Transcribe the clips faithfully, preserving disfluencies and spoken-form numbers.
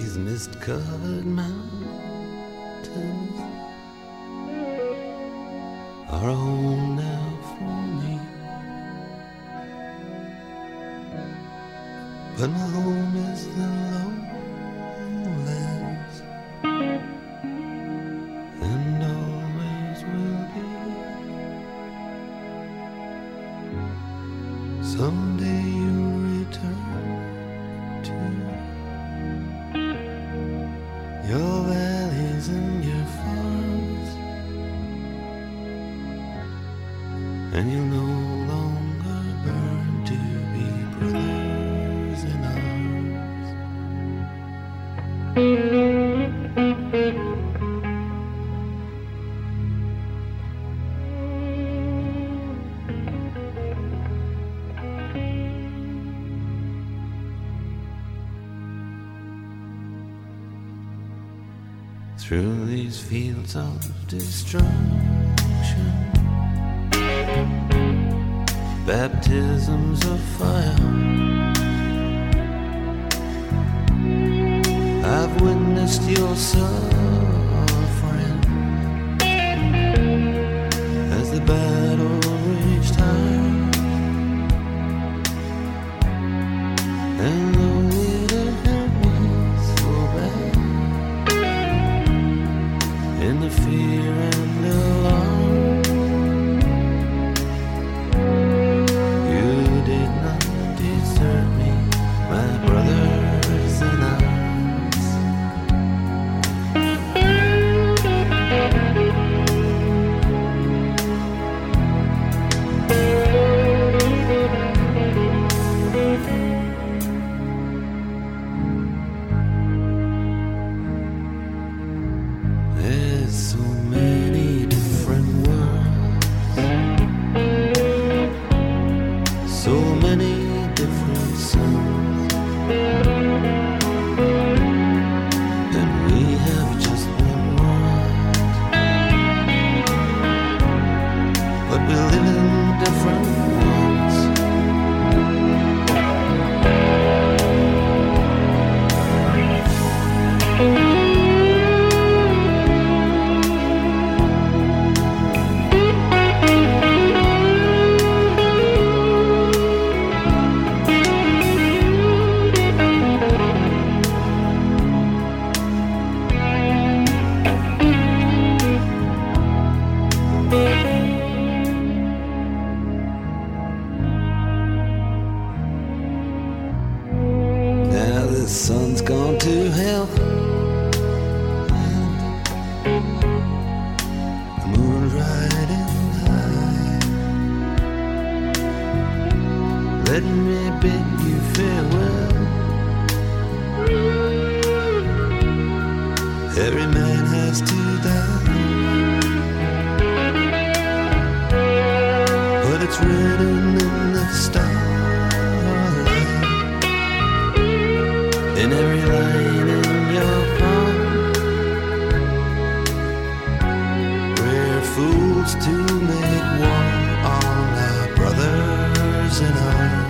these mist-covered mountains are a home now for me. But my home is the lowlands, and always will be. Someday you'll return to your valleys and your farms, and you'll no longer burn to be brothers in arms. Through these fields of destruction, baptisms of fire, I've witnessed your suffering as the battle raged high, and though it hurt me so bad, in the fear and alarm, you did not desert me, my brothers in arms. There's so many different worlds, so many different suns, and we have just one world, but we live in different ones. Now the sun's gone to hell, and the moon's riding high. Let me bid you farewell. Every man has to die, but it's written in the starlight, in every line in your palm. We're fools to make war on our brothers in arms.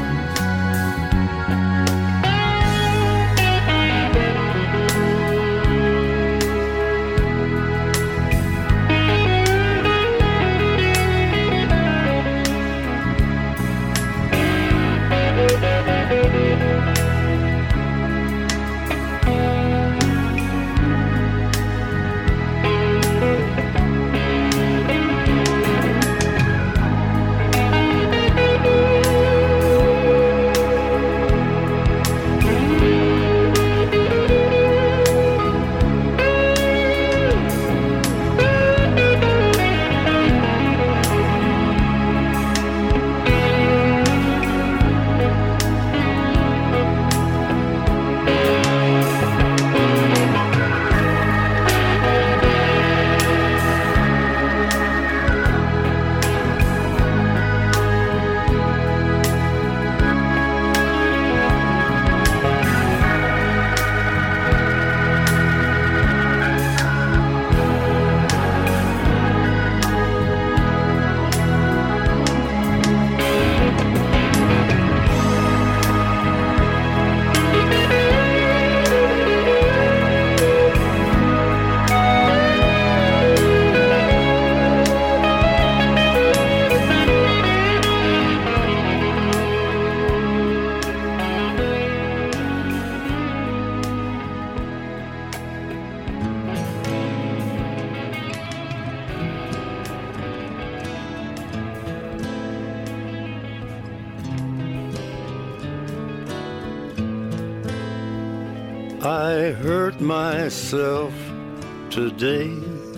I hurt myself today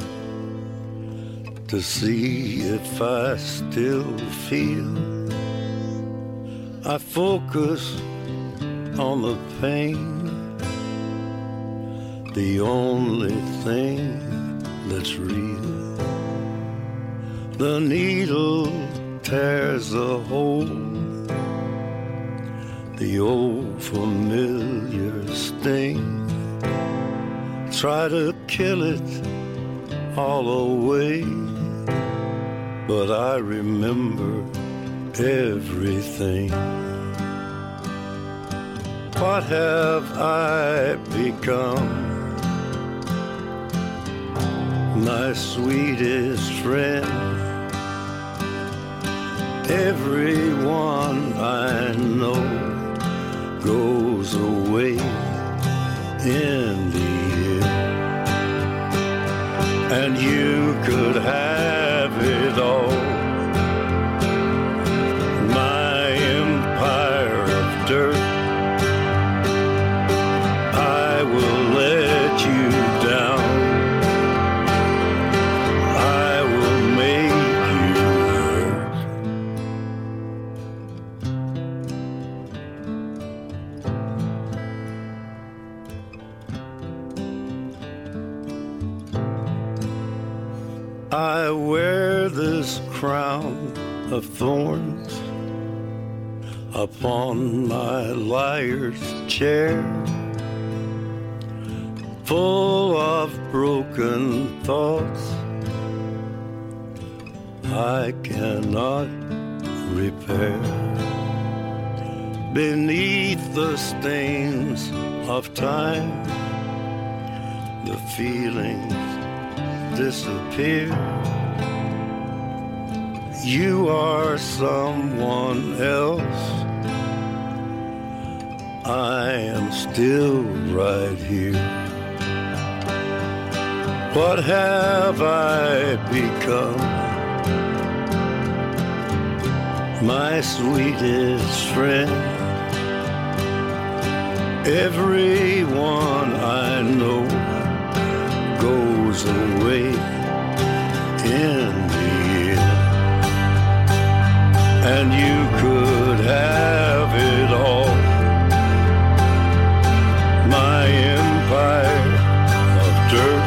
to see if I still feel. I focus on the pain, the only thing that's real. The needle tears a hole, the old familiar sting. Try to kill it all away, but I remember everything. What have I become? My sweetest friend. Everyone I know goes away in the end, and you could have it all. My empire of dirt, I will let you down. I will make you hurt. I wear this crown of thorns upon my liar's chair, full of broken thoughts I cannot repair. Beneath the stains of time, the feelings disappear. You are someone else, I am still right here. What have I become? My sweetest friend. Everyone I know goes away in the end, and you could have it all. My empire of dirt,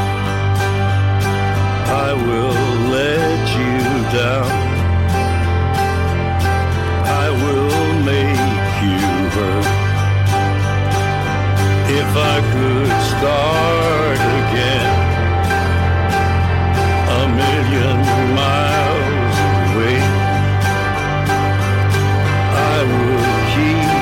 I will let you down. I will make you hurt. If I could start again, a million miles away, I would keep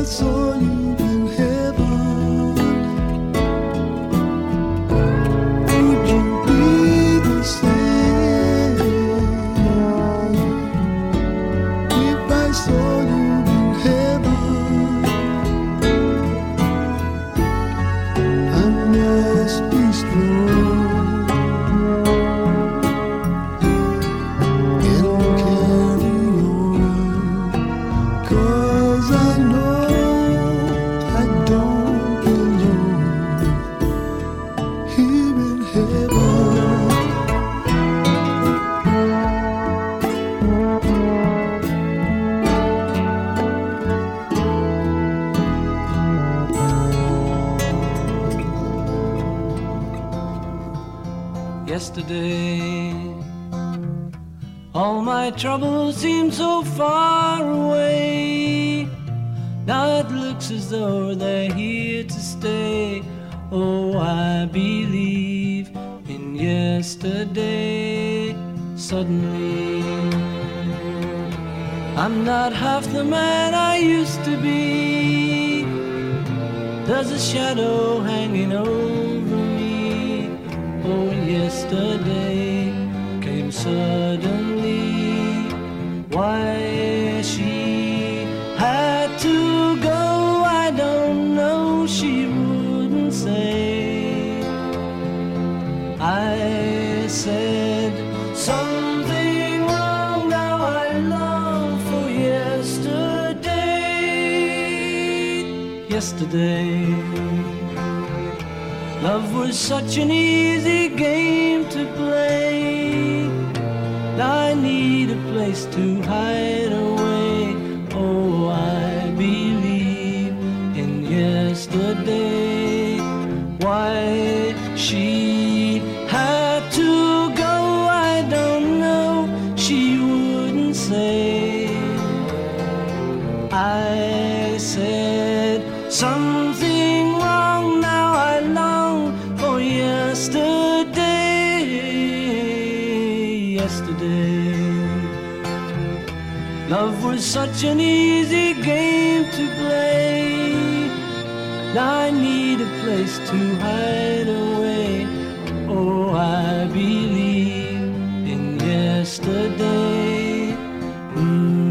Yesterday, all my troubles seem so far away. Now it looks as though they're here to stay. Oh, I believe in yesterday. Suddenly, I'm not half the man I used to be. There's a shadow hanging over me. Oh, yesterday came suddenly. Why she had to go, I don't know, she wouldn't say. I said something wrong, now I long for yesterday. Yesterday, love was such an easy game to play. Now I need a place to hide away. Oh, I believe in yesterday. Why she had to go, I don't know, she wouldn't say. I said something wrong, now I long for yesterday. Yesterday, love was such an easy game to play. Now I need a place to hide away. Oh, I believe in yesterday. Mm-hmm.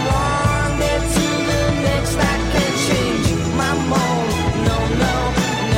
No, no,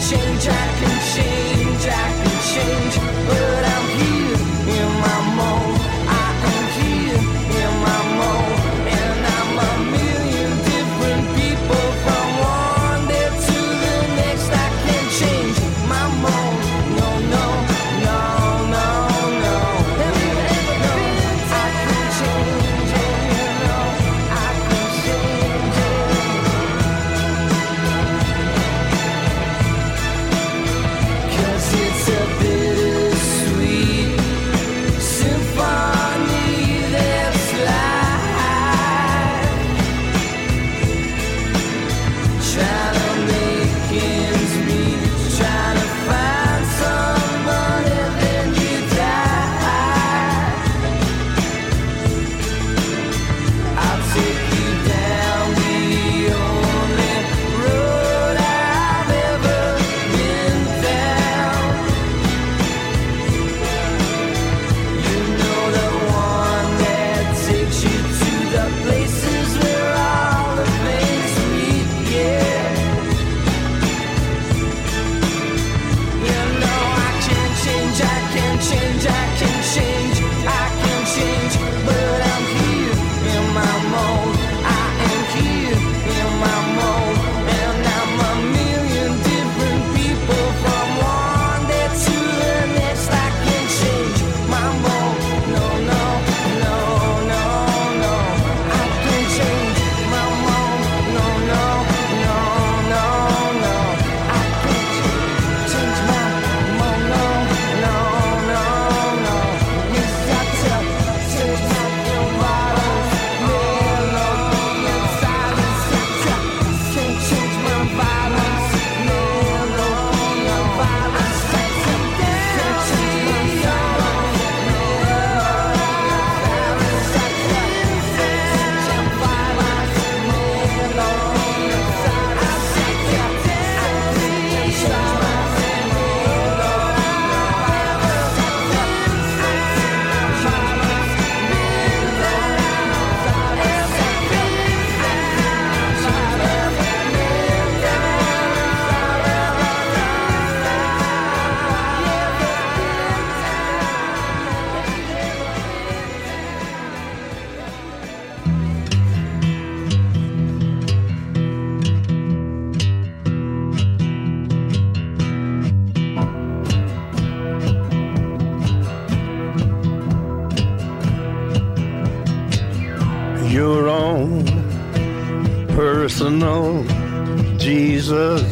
change, I can change, I can change, but I'm here in my mold. I am here in my mold, and I'm a million different people from one day to the next. I can change my mold. No, no, no, no, no. Have you ever no, I can change it, you know. I can change it. 'Cause it's a bittersweet symphony that's life. Trying to make ends meet, trying to find somebody, then you die. I'll take you down the only road I've ever been down. You know, the one that takes you to the places where all the things meet, yeah. You know, I can change, I can change, I can change, I can change, but I'm here in my mold. I am here in my mold, and I'm a million different people from one day to the next. I can change my mold. No, no, no, no, no. I can change my mold. No, no, no, no, no. I can change my mold. No, no, no, no. Yes, I tell, change my violence. Melody and silence. I tell, can't change my violence. Melody and violence. I tell, can't change my violence. Melody and silence. I tell, can't change my violence. Melody and silence. I tell, can't change my Your own personal Jesus,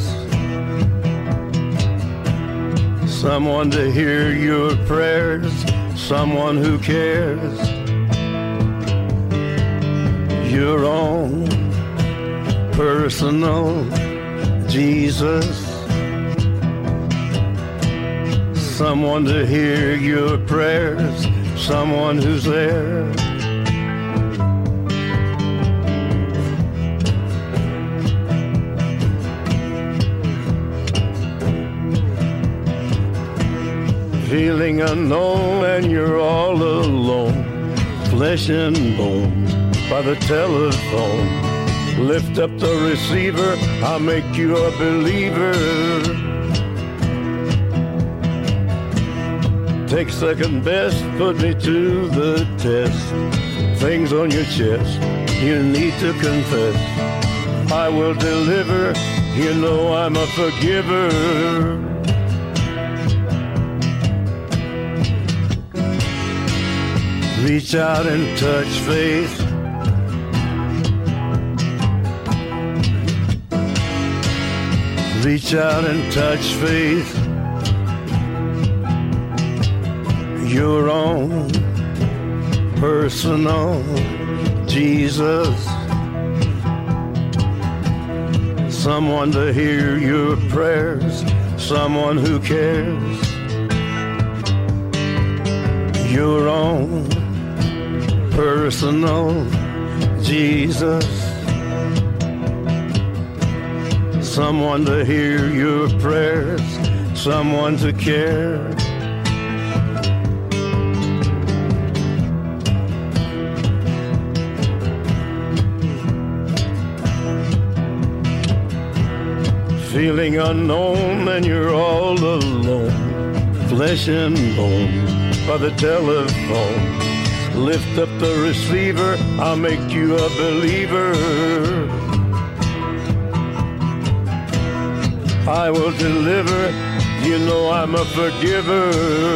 someone to hear your prayers, someone who cares. Your own personal Jesus, someone to hear your prayers, someone who's there. Feeling unknown and you're all alone, flesh and bone by the telephone. Lift up the receiver, I'll make you a believer. Take second best, put me to the test. Things on your chest, you need to confess. I will deliver, you know I'm a forgiver. Reach out and touch faith. Reach out and touch faith. Your own personal Jesus, someone to hear your prayers, someone who cares. Your own personal Jesus, someone to hear your prayers, someone to care. feeling unknown and you're all alone, flesh and bone by the telephone. Lift up the receiver, I'll make you a believer. I will deliver, you know I'm a forgiver.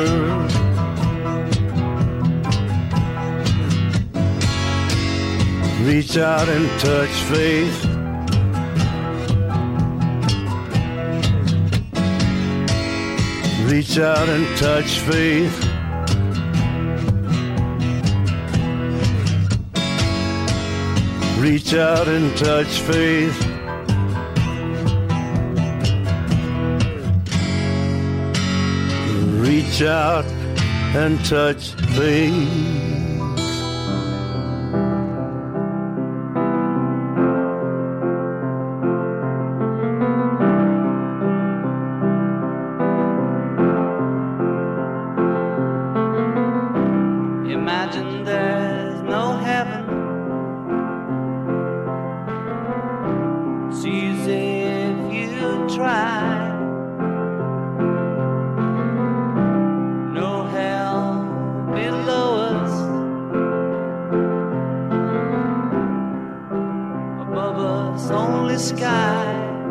Reach out and touch faith. Reach out and touch faith. Reach out and touch faith. Reach out and touch faith. Imagine there's no heaven. It's easy if you try. No hell below us. Above us only sky.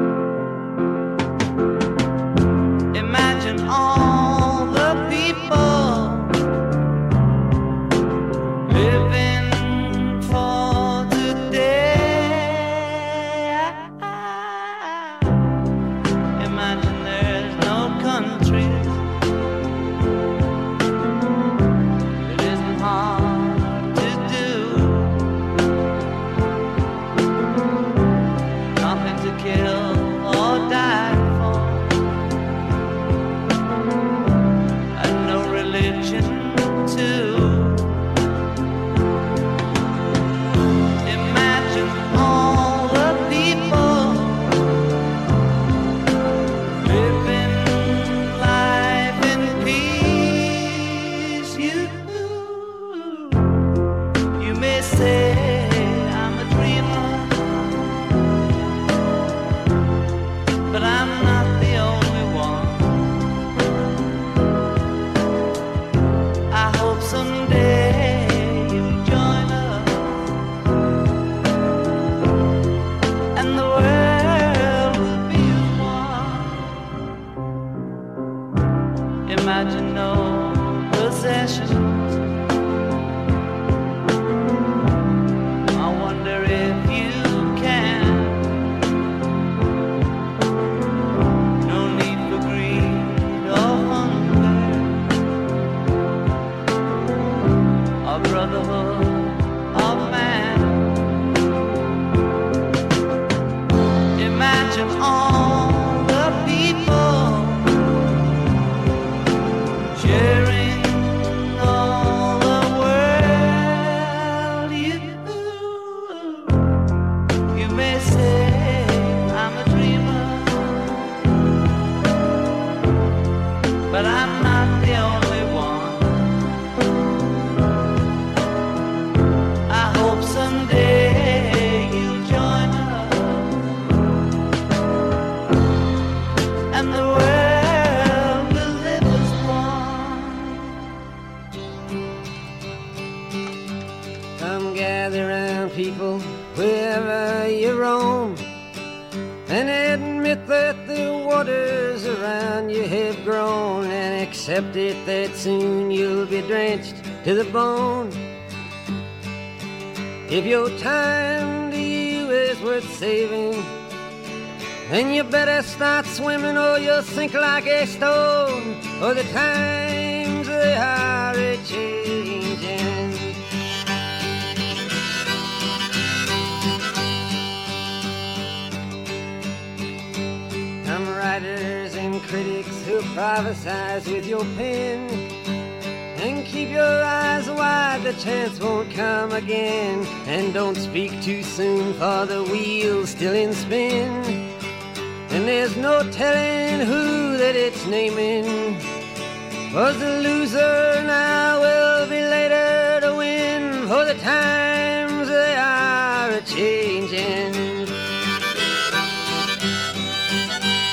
Imagine all the people living for today. Imagine there's no countries. It isn't hard to do. Nothing to kill or die for. And no religion too. Imagine all the people living life in peace. You, you may say I'm a dreamer, but I'm not the only one. I hope someday you'll join us and the world will be as one. Imagine no possessions. I wonder if you can. No need for greed or hunger, or brotherhood of man. Imagine all the people sharing all the world. You, you may say I'm a dreamer, but I'm not the only one. I hope someday you'll join us and the world will live as one. Come gather round, people, wherever you roam, and admit that the waters around you have grown, and accept it that soon you'll be drenched to the bone. If your time to you is worth saving, then you better start swimming or you'll sink like a stone, or the times they are a-changing. Some writers and critics who prophesize with your pen, and keep your eyes wide, the chance won't come again. And don't speak too soon, for the wheel's still in spin, and there's no telling who that it's naming. Was the loser now will be later to win, for the times they are a-changing.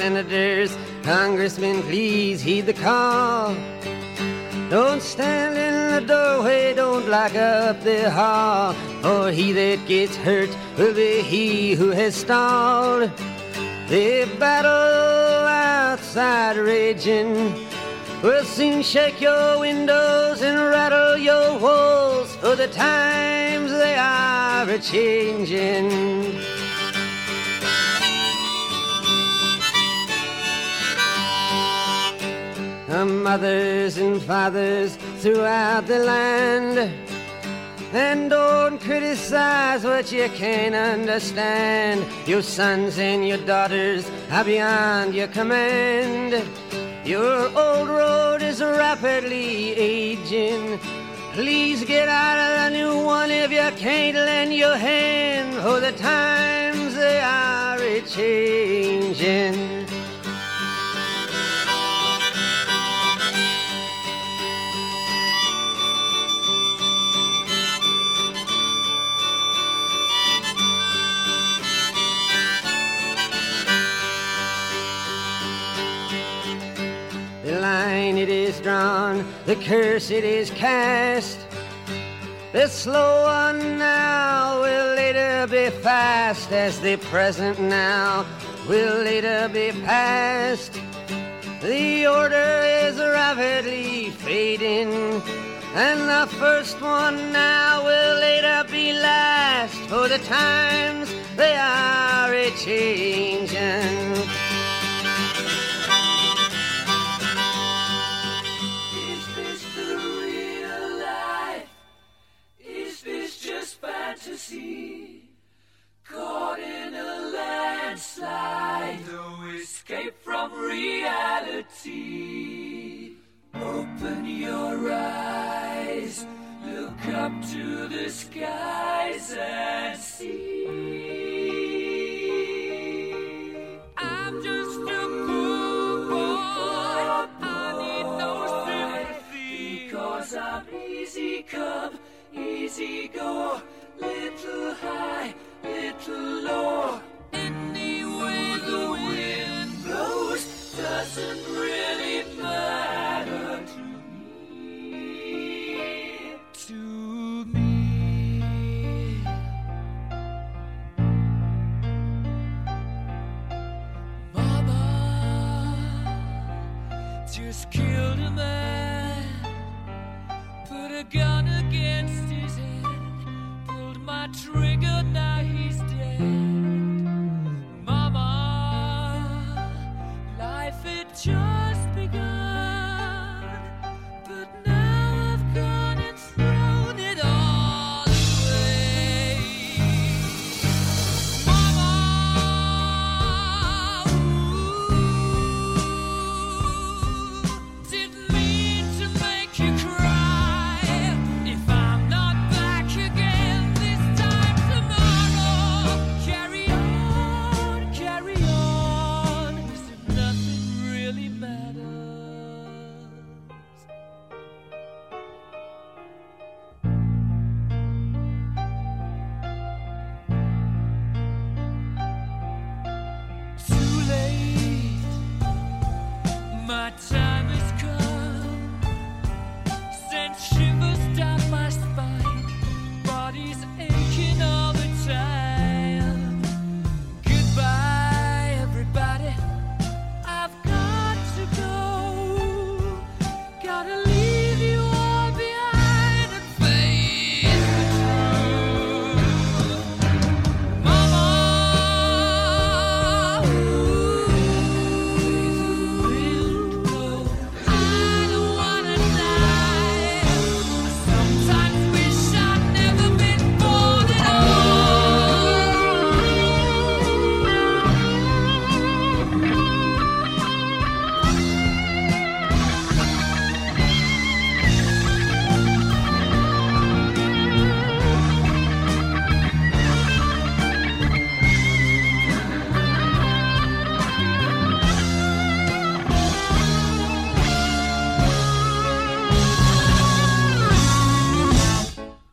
senators, congressmen, please heed the call. Don't stand in the doorway, don't lock up the hall, for he that gets hurt will be he who has stalled. The battle outside raging will soon shake your windows and rattle your walls, for the times they are a-changing. Mothers and fathers throughout the land, and don't criticize what you can't understand. Your sons and your daughters are beyond your command. Your old road is rapidly aging. Please get out of the new one if you can't lend your hand, for the times they are a-changing. It is drawn, the curse it is cast. The slow one now will later be fast, as the present now will later be past. The order is rapidly fading, and the first one now will later be last, for the times they are a-changing. Fantasy, caught in a landslide, no escape from reality. Open your eyes, look up to the skies and see. I'm just a poor boy, I need no sympathy, because I'm easy come, easy go. Little high, little low. Any way the wind blows doesn't really matter to me. To me. Mama just killed a man, put a gun against his head. My trigger, now he's dead. Mama, life had just begun, but now I've gone and thrown it all away. Mama, ooh, didn't mean to make you cry. If I'm not back again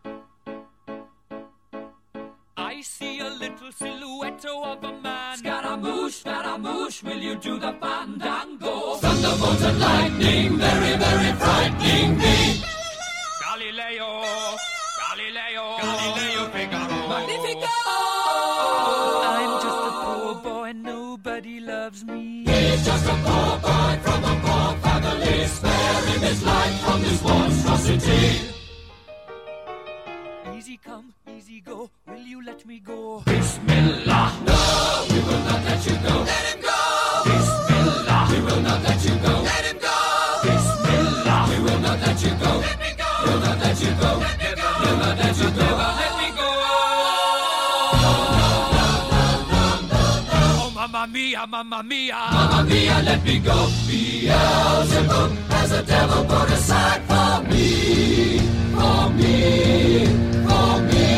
I see a little silhouette of a man. He's got a Scaramouche, Scaramouche, will you do the fandango? Thunderbolts and lightning, very, very frightening me. Galileo, Galileo, Galileo Figaro. Magnifico! I'm just a poor boy, nobody loves me. He's just a poor boy from a poor family, sparing his life from this monstrosity. Easy come, easy go, will you let me go? Bismillah, no, we will not let you go. Let him go! Bismillah, we will not let you go. Let him go! Bismillah, we will not let you go. Let me go! We'll not let you go. Let me go! We'll not let you go. Let me go! Oh, mamma mia, mamma mia, mamma mia, let me go. Beelzebub has a devil put aside for me, for me, for me.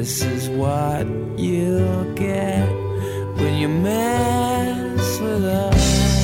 This is what you'll get when you mess with us.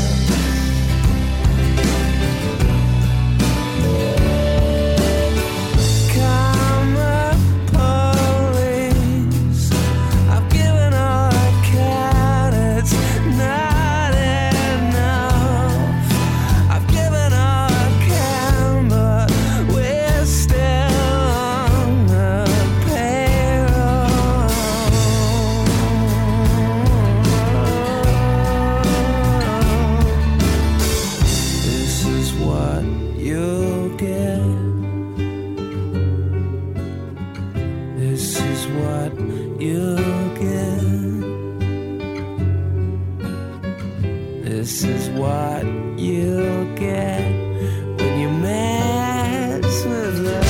This is what you'll get when you mess with love.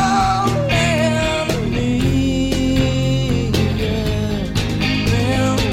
Well,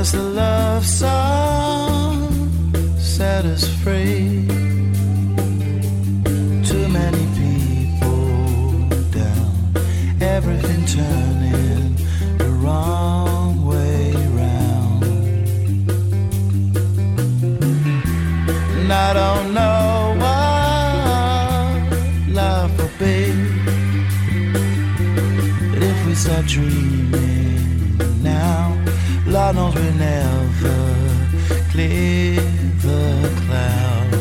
does the love song set us free? Too many people down, everything turning the wrong way round. And I don't know what life will be, but if we start dreaming now, Lord knows we'll never clear the clouds.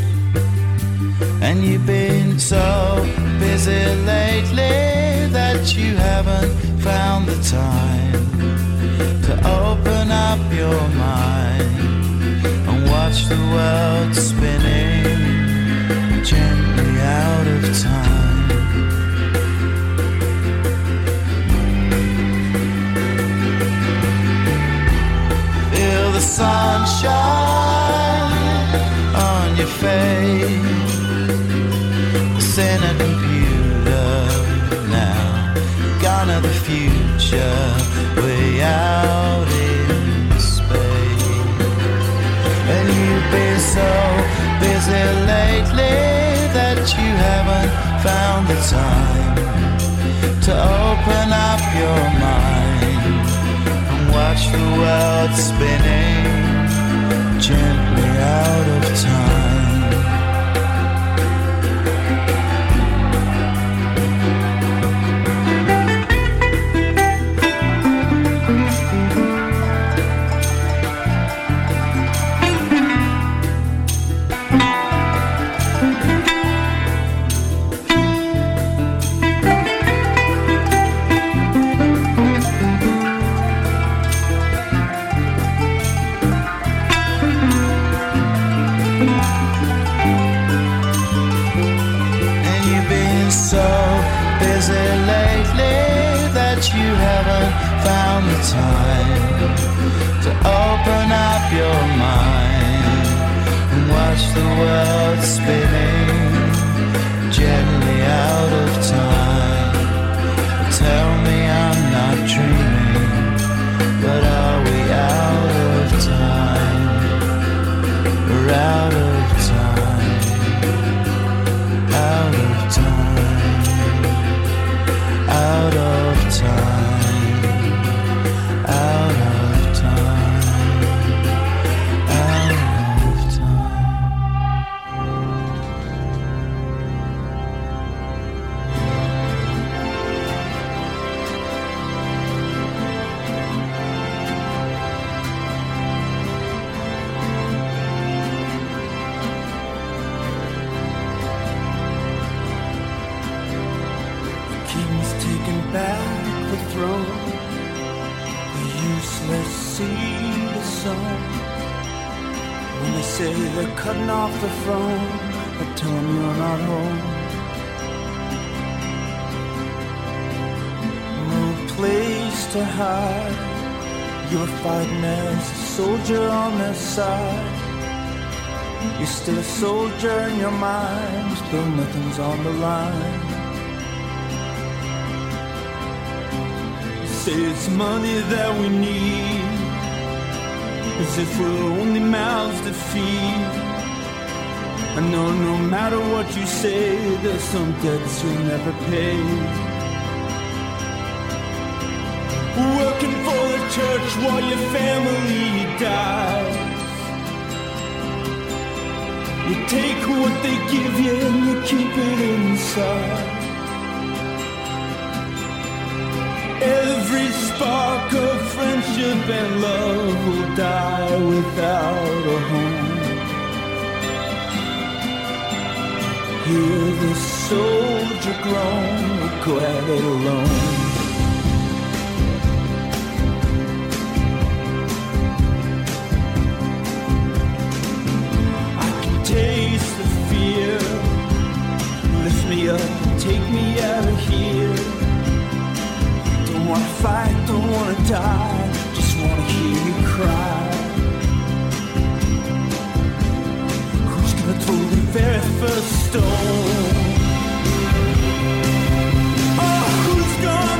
And you've been so busy lately that you haven't found the time to open up your mind and watch the world spinning gently out of time. Feel the sunshine on your face, in a computer now, gone are the future, way out in space. And you've been so busy lately that you haven't found the time to open up your mind and watch the world spinning gently out of time. You haven't found the time to open up your mind and watch the world spinning gently out of time. Tell me I'm not dreaming, but are we out of time? We're out of time, out of time, out of time, out of time, out of time. The king's taken back the throne, the useless see the sun. When they say they're cutting off the throne, I tell them you're not home. No place to hide, you're fighting as a soldier on their side. You're still a soldier in your mind, though nothing's on the line. Say it's money that we need, as if we're only mouths to feed. I know no matter what you say, there's some debts you'll never pay. Working for the church while your family dies. You take what they give you and you keep it inside. Every spark of friendship and love will die without a home. Hear the soldier groan, we'll go at it alone. I can taste the fear, lift me up and take me out of here. Don't wanna fight, don't wanna die, just wanna hear you cry. Who's gonna throw the very first stone? Oh, who's gonna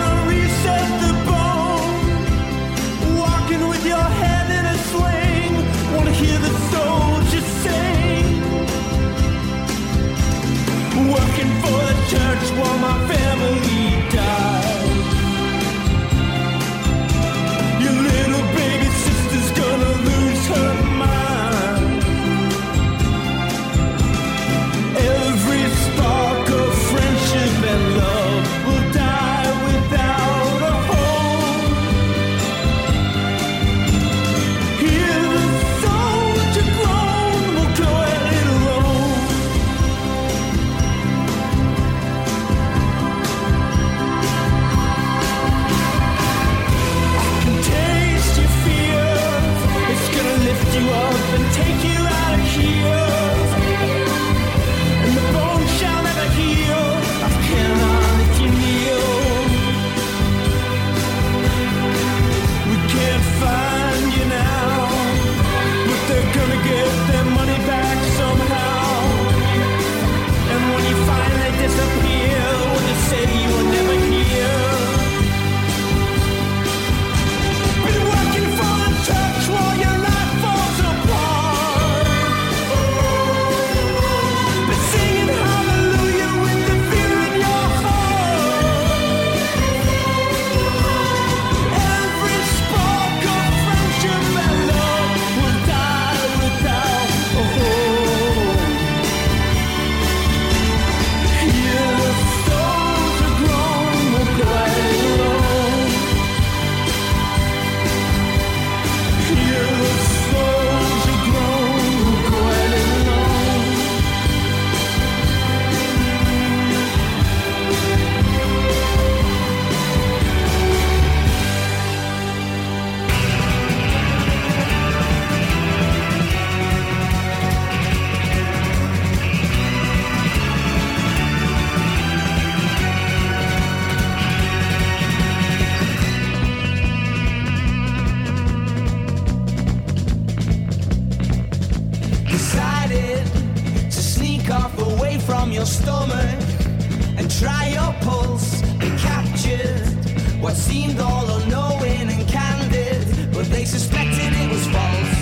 your stomach and try your pulse and capture what seemed all unknowing and candid, but they suspected it was false.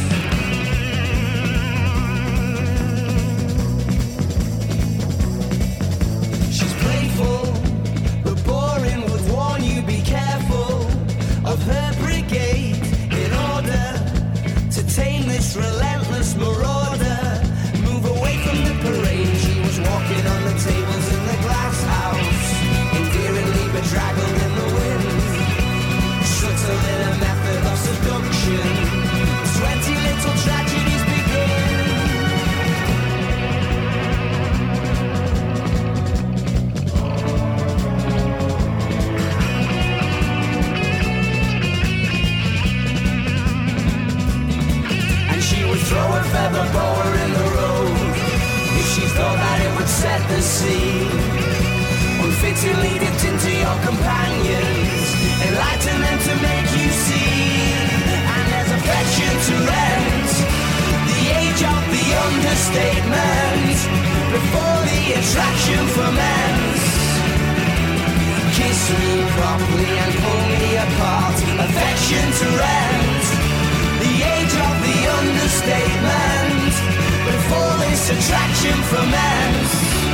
She's playful, but boring, would warn you be careful of her brigade in order to tame this relentless marauder. Move away from the parade. She was walking on the tables in the glass house, endearingly bedraggled in the wind, subtle in a method of seduction. Twenty little tragedies begin. And she would throw a feather boa in the road if she thought that it would set the scene. Unfittingly dipped into your companions, enlighten them to make you see. And there's affection to rent, the age of the understatement, before the attraction ferments. Kiss me properly and pull me apart. Affection to rent, the age of the understatement, before this attraction ferments.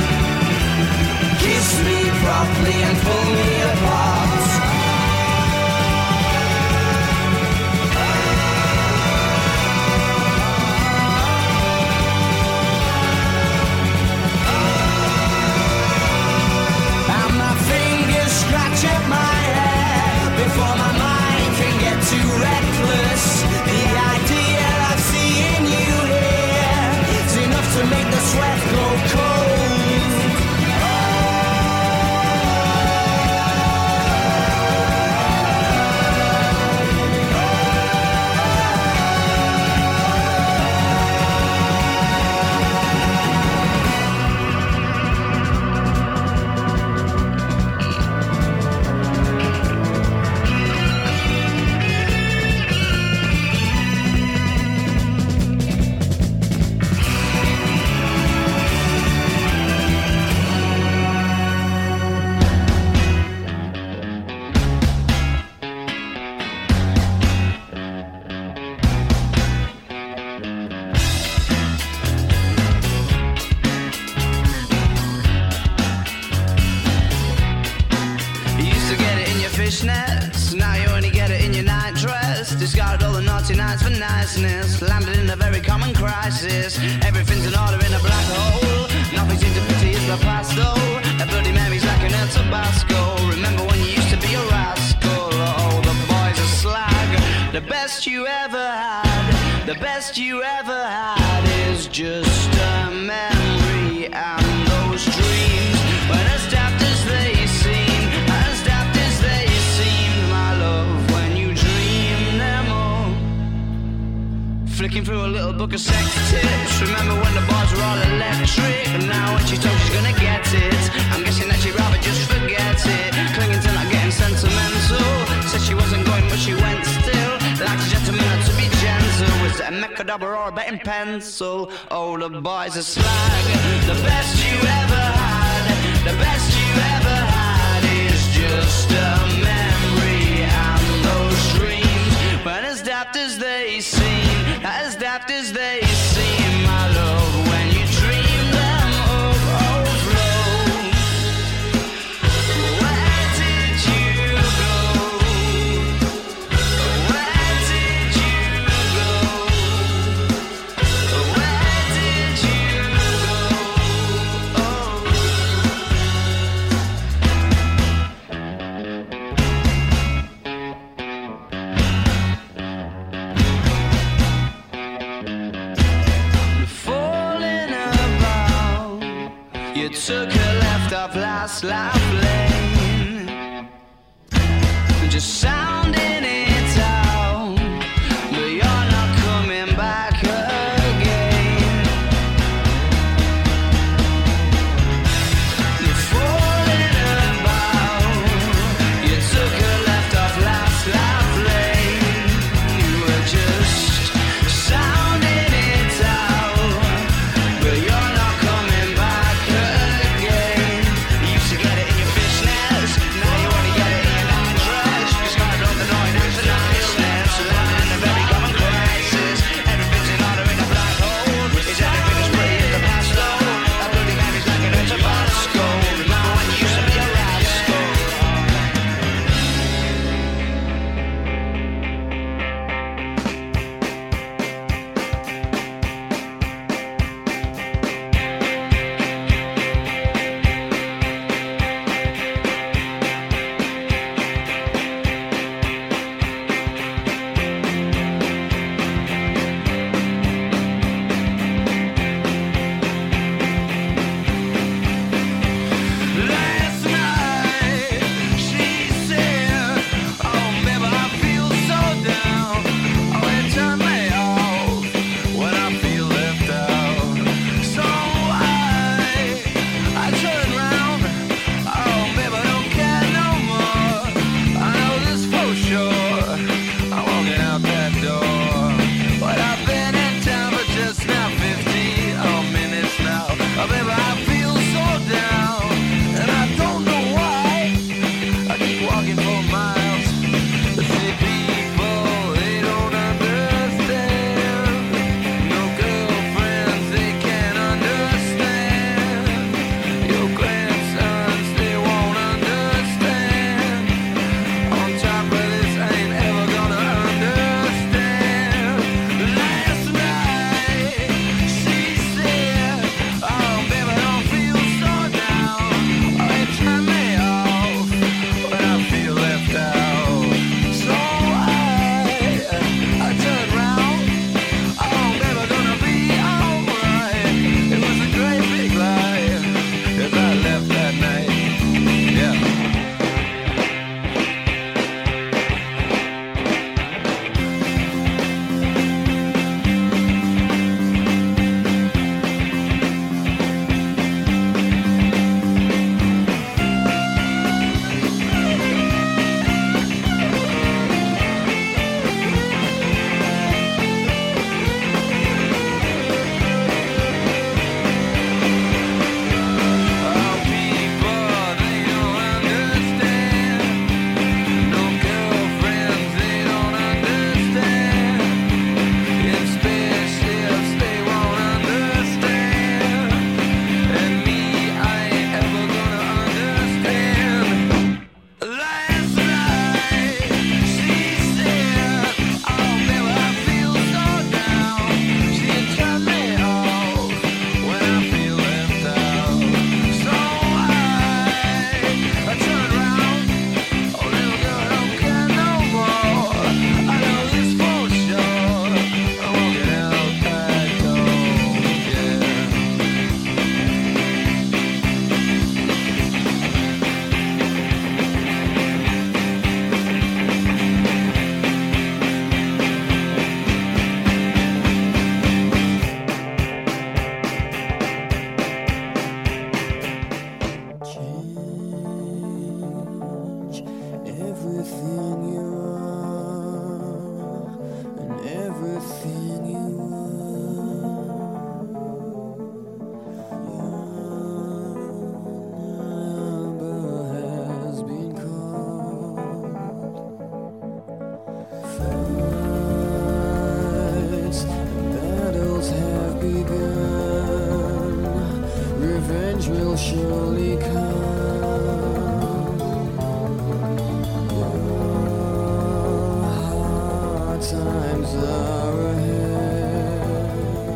Kiss me properly and pull me apart. And my fingers scratch at my hair before my mind can get too reckless. The idea of seeing you here is enough to make the sweat go cold. Now you only get it in your night dress. Discarded all the naughty nights for niceness. Landed in a very common crisis. Everything's in order in a black hole. Nothing seems to pity is the past though. A bloody memory's like an El Tabasco. Remember when you used to be a rascal? Oh, the boys are slag. The best you ever had, the best you ever had is just a memory. And those dreams, when as daft as they seem, as daft as they seemed, my love, when you dream them all. Flicking through a little book of sex tips. Remember when the bars were all electric? And now when she told she's gonna get it, I'm guessing that she'd rather just forget it. Clinging to not getting sentimental. Said she wasn't going but she went still. Like a gentleman had to be gentle. Was it a Mechadobber or a betting pencil? Oh, the boys are slag. The best you ever had, the best you ever had is just a memory. And those dreams, when as daft as they seem, as daft as they seem, my love, when you dream them of overflow. Where did you go? Where did you go? Where did you go? Oh. Falling about, you took a left off last life lane, just sounding it out, but you're not coming back again. You're falling about, you took a left off last life lane, you were just sounding it out, but you're not coming back again. begun. Revenge will surely come. Hard times are ahead.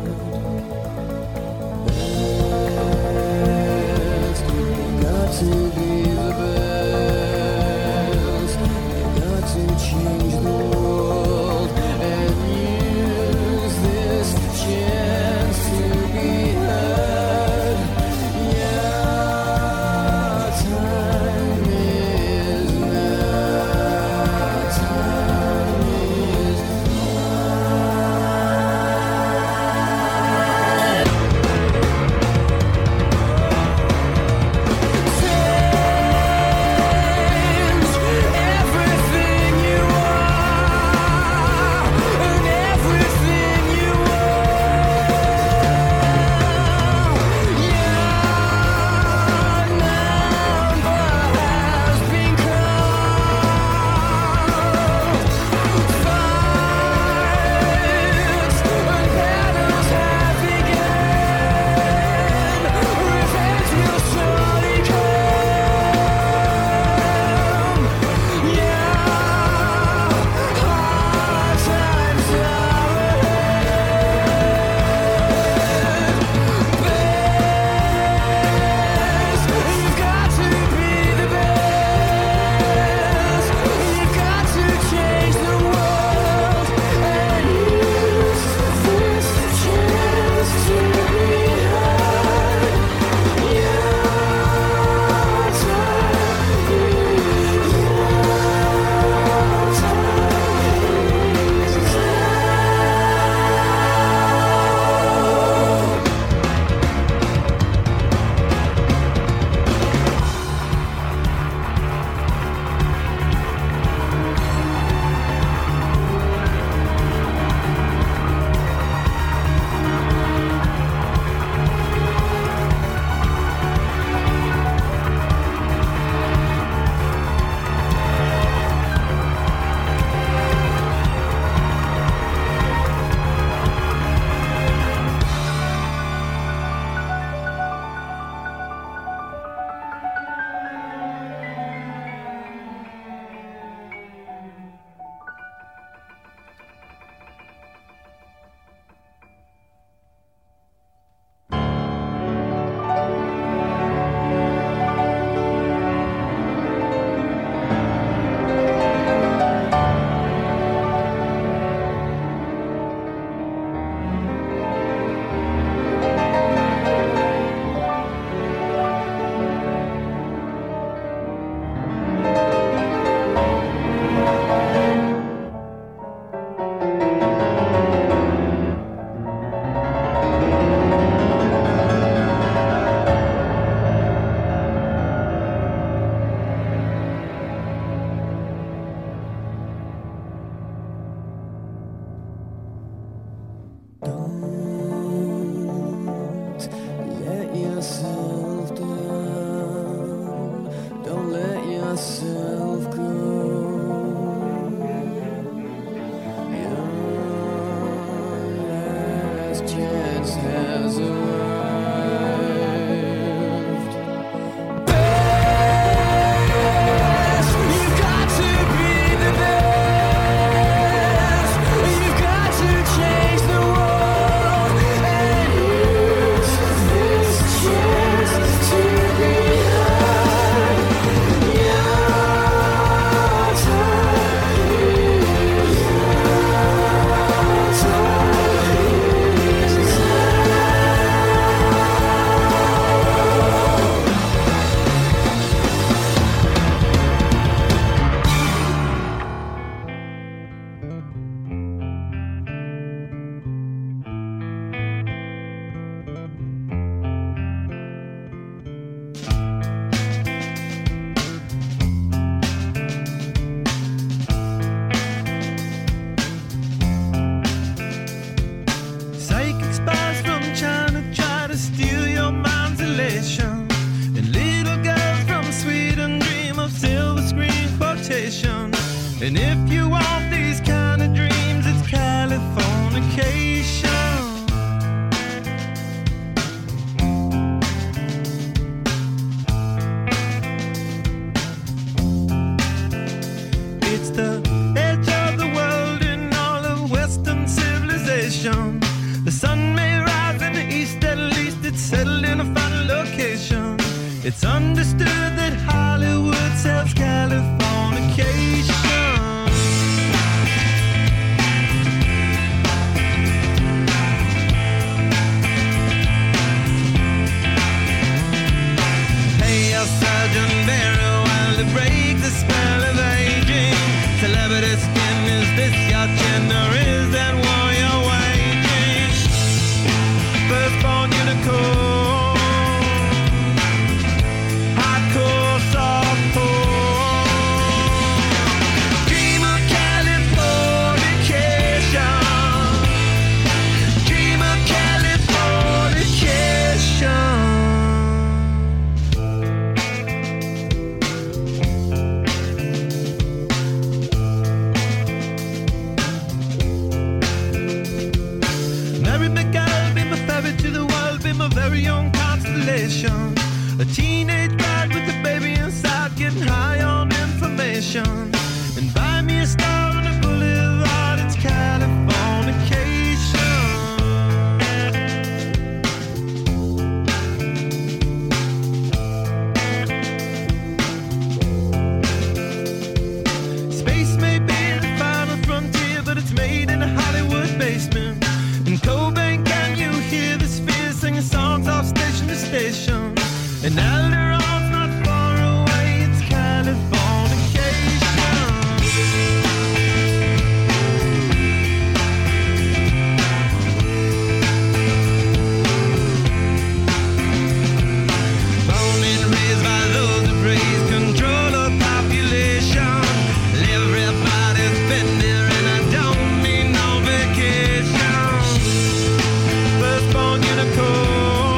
Best, you got to be the best. You got to change the world and use this chance to be heard. Yeah, time is now. Time is Change everything you are and everything you are. Your number has been called. Fights and battles have begun. Revenge will surely come. Yeah, hard times are ahead. Best, you've got to be the best. You've got to change the world and use this chance to be heard. Yeah, time is Don't let yourself down. Don't let yourself go. Your last chance has arrived. Best, you've got to be the best. You've got to change the world and use this chance to be heard. Yeah, time is very own constellation. A teenage bride with a baby inside, getting high on information. And buy me a star on a boulevard, it's Californication. Space may be the final frontier, but it's made in a Hollywood basement. In Cobain, can you hear the sphere singing songs off station to station? And Alderon's not far away, it's Californication. Born and raised by those who praise control of population. Everybody's been there and I don't need no vacation. Firstborn unicorn.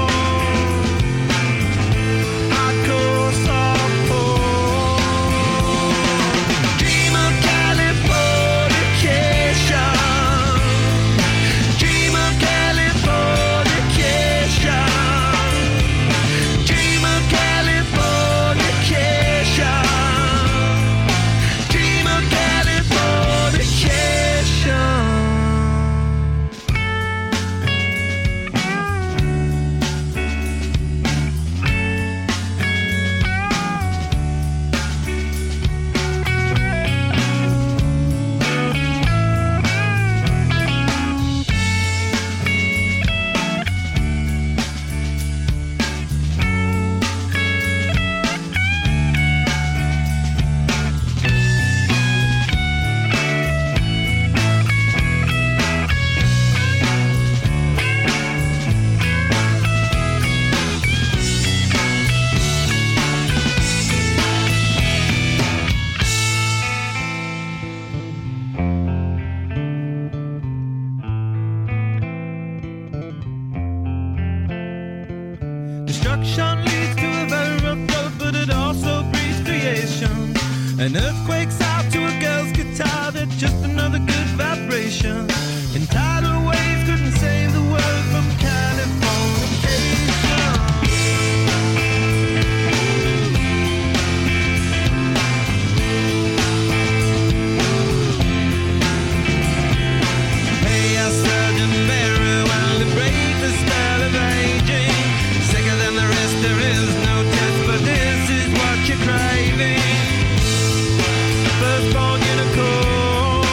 Destruction leads to a very rough road, but it also breeds creation. An earthquake's out to a girl's guitar, that's just another good vibration. And tidal waves couldn't save the world from Californication. Hey, I surgeon very well to break the spell of aging. Sicker than the rest, there is no test, but this is what you're craving. Firstborn unicorn,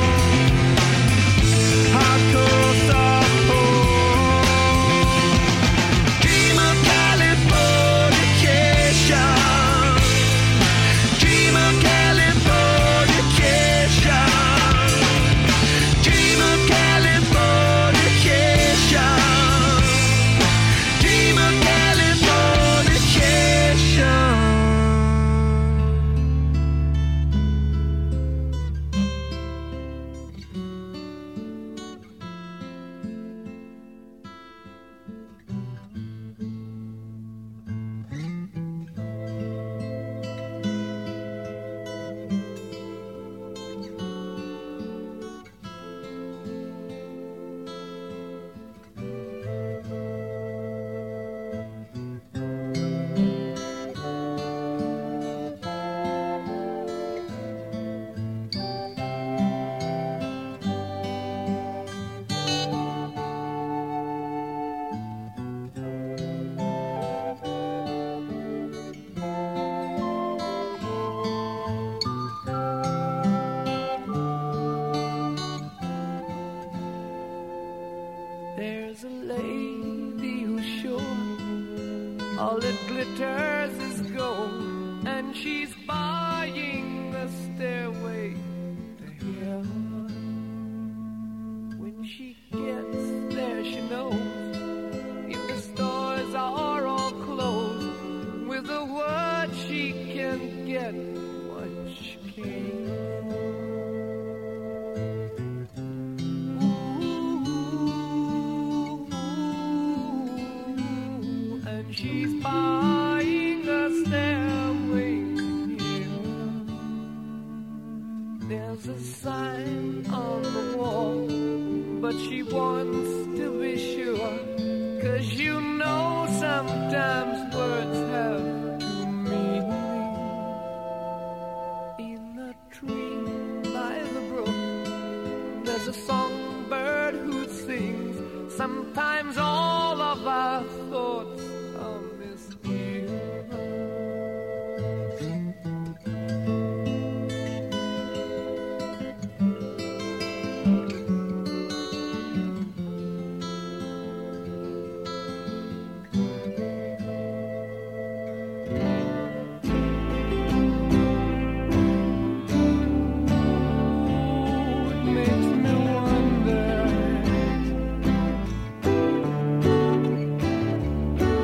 hardcore softcore. Dream of Californication. Dream of Californication. Dream of Californication. Dream of Californication. There's a lady who's sure all that glitters is gold, and she's buying the stairway to heaven. When she gets there, she knows if the stores are all closed, with a word she can get what she came for. She's buying a stairway here. There's a sign on the wall, but she wants to be sure, 'cause you know Sometimes all of our thoughts are misty. Makes me wonder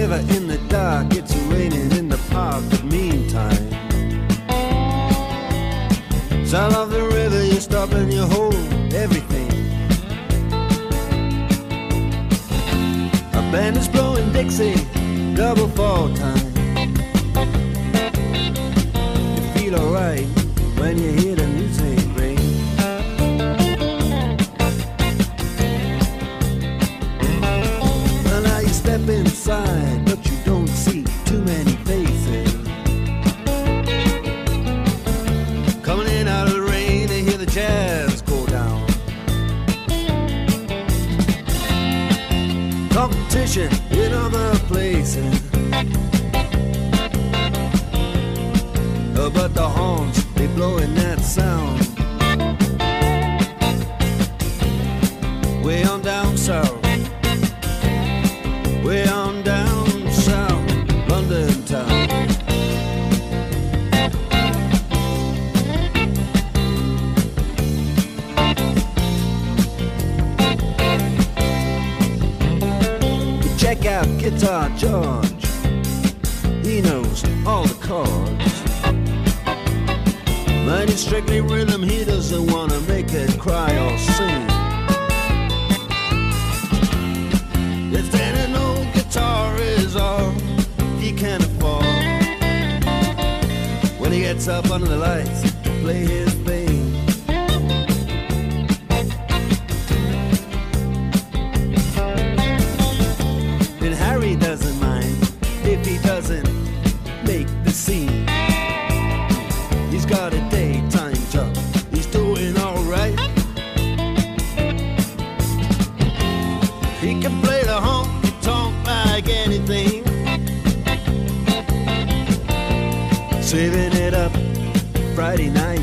never in the dark, it's raining in the park, but meantime, sound of the river, you stop and you hold everything. A band is blowing Dixie, double fall time. You feel alright when you hear the music ring. Well, now you step inside, but you don't see too many faces. Coming in out of the rain, they hear the jazz go down. Competition in other places, uh, but the horns, they blowing that sound. Way on down south, way on down south, London town. Check out Guitar George, he knows all the chords. But it's strictly rhythm, he doesn't want to make it cry or sing. If then an old guitar is all he can afford, when he gets up under the lights to play his thing, and Harry doesn't mind if he doesn't make the scene. He's got a daytime job, he's doing alright. He can play the honky tonk like anything, saving it up Friday night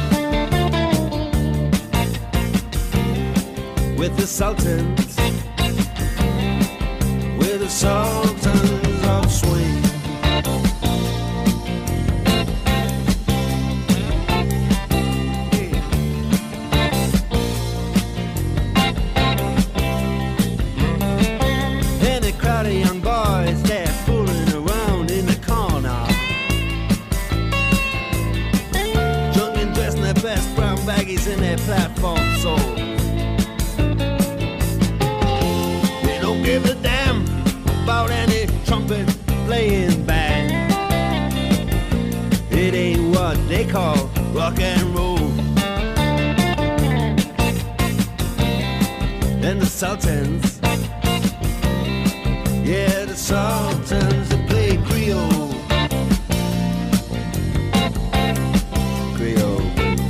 with the Sultans, with the Sultans of Swing. And a crowd of young boys, they're fooling around in the corner, drunk and dressed in their best brown baggies in their platform soles. They don't give a damn about any trumpet playing band. It ain't what they call rock and roll. And the Sultans, yeah, the Sultans, they play Creole. Creole.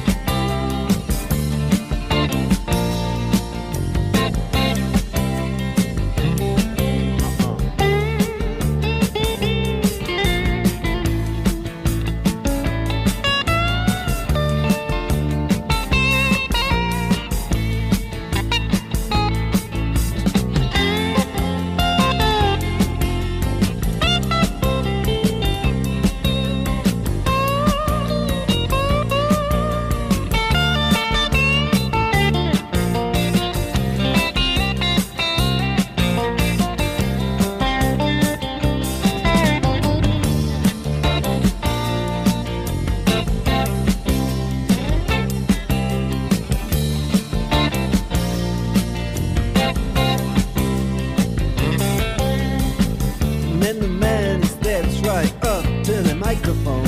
And the man steps right up to the microphone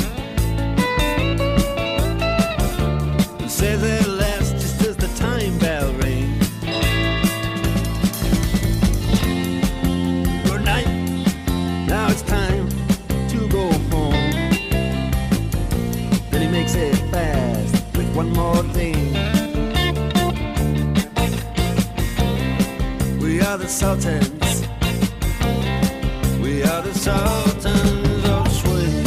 and says at last, just as the time bell rings, good night, now it's time to go home. Then he makes it fast with one more thing. We are the Sultans, we are the Sultans of Swing.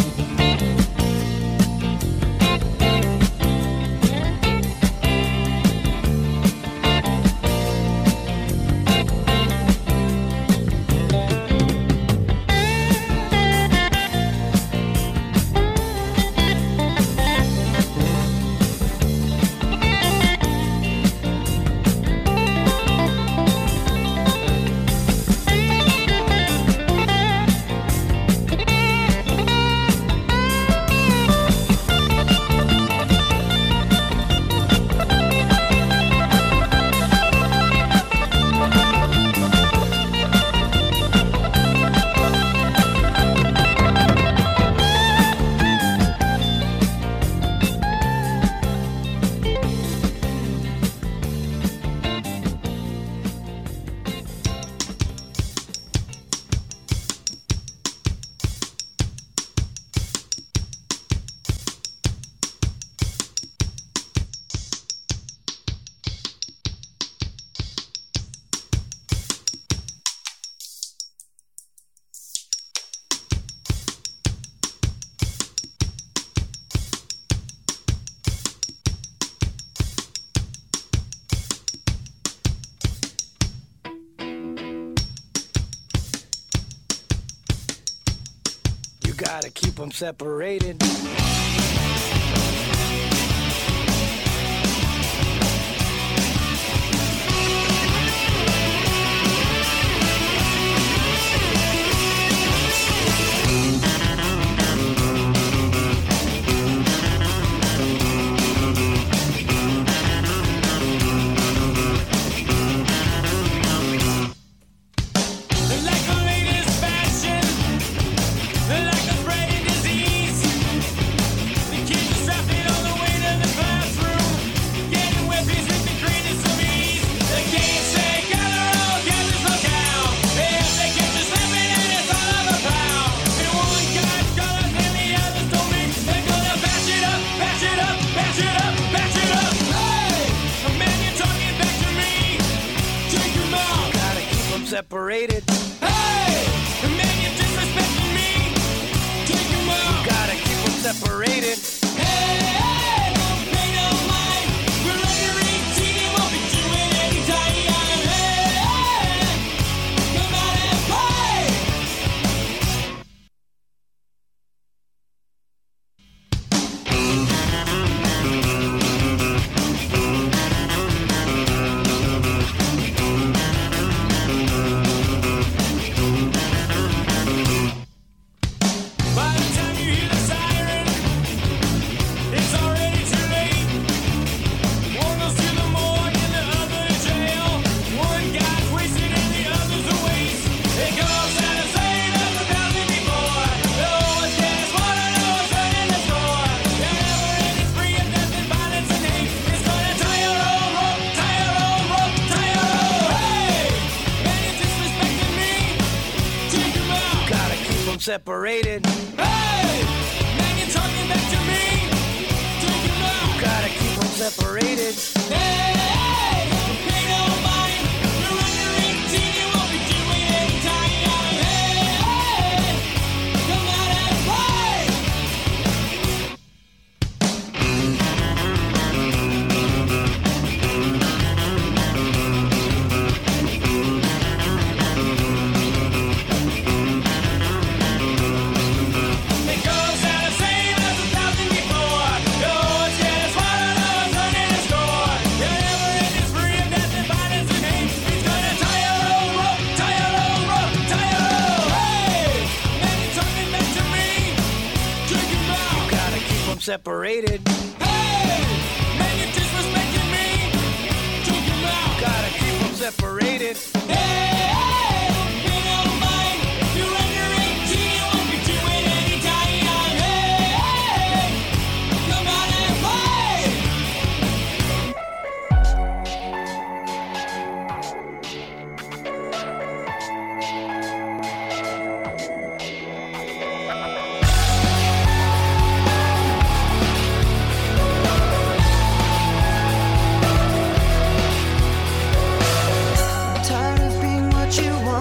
Gotta keep them separated. Separated. Hey, the man you're disrespecting me. Take him out. Gotta keep them separated. Hey, hey, don't pay no mind. We're under eighteen, you won't be doing any time. Hey, hey, come out and play. Separated. Hey, man, you're talking back to me. Take him out. Gotta keep them separated. Hey, hey, don't pay no mind. You're under eighteen, you won't be doing any time. Hey, hey, come out and play. Separated. Hey, man, you're disrespecting me. Take him out. Gotta keep them separated. Hey, hey, don't pay no mind. You're under eighteen, you won't be doing any time. Hey, hey, come out and play. Tired of being what you want.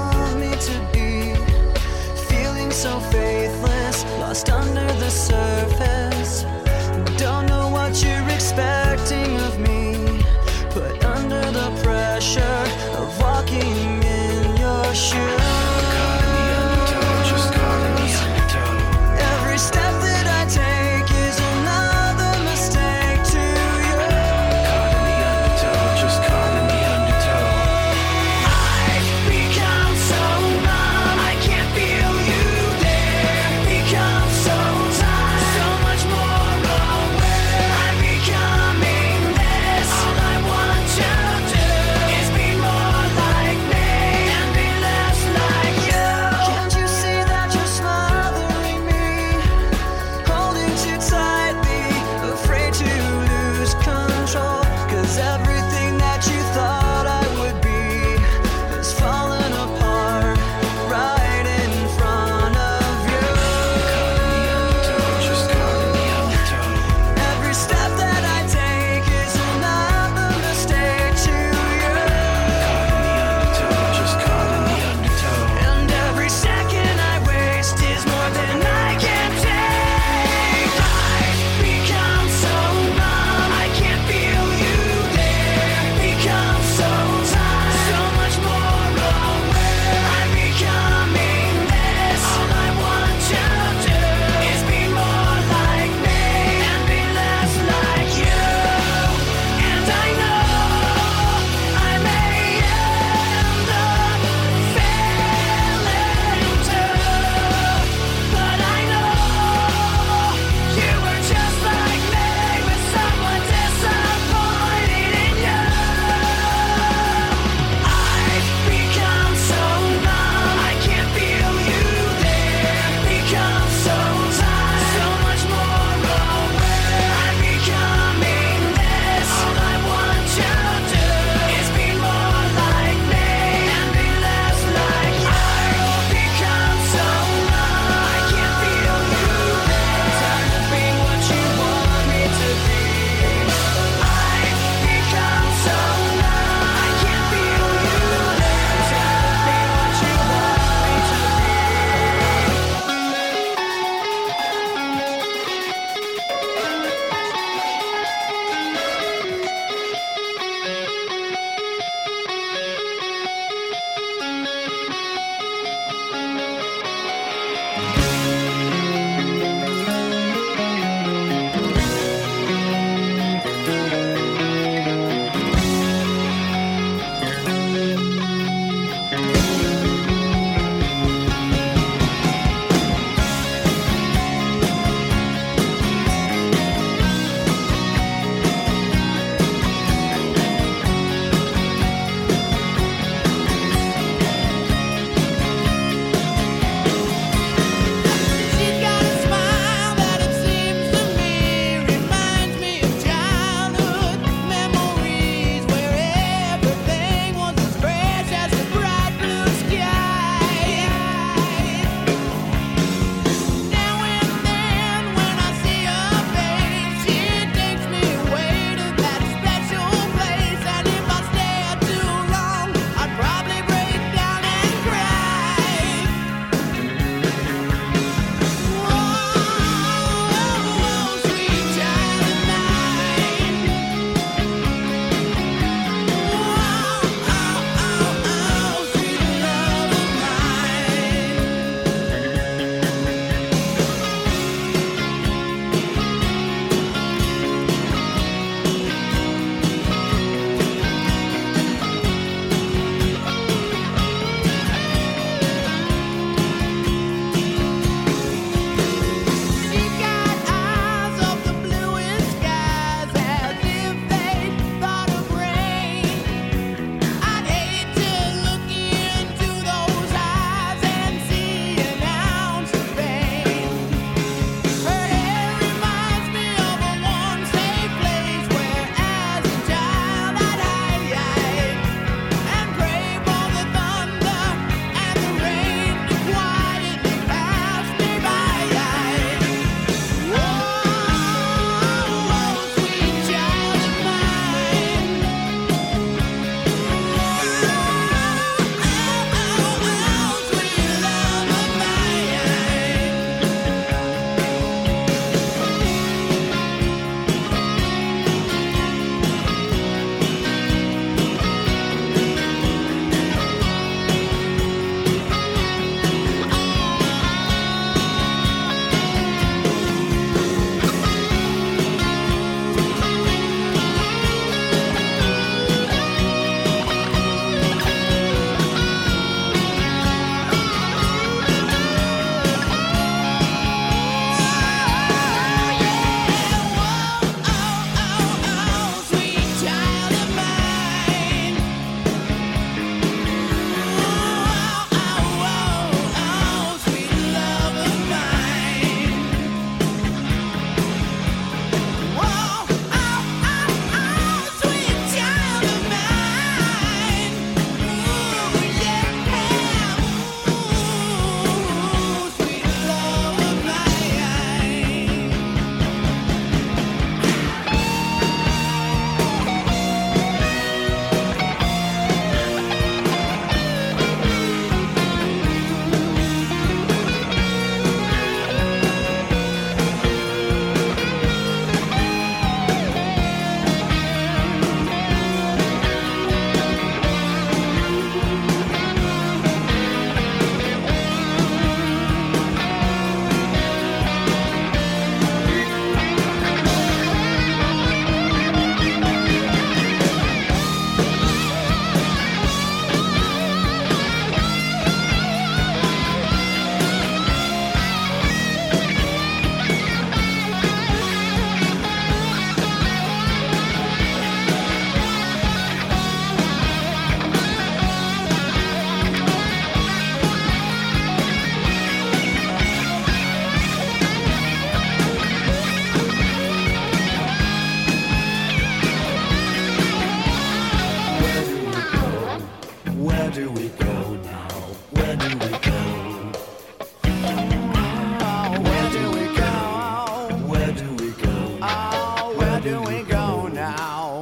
do we go now?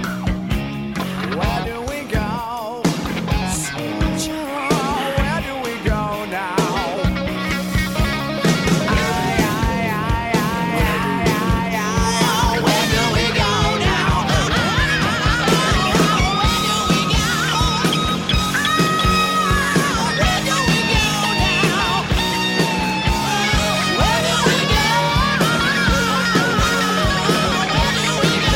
Where do we go? Where do we go now? Where do we go?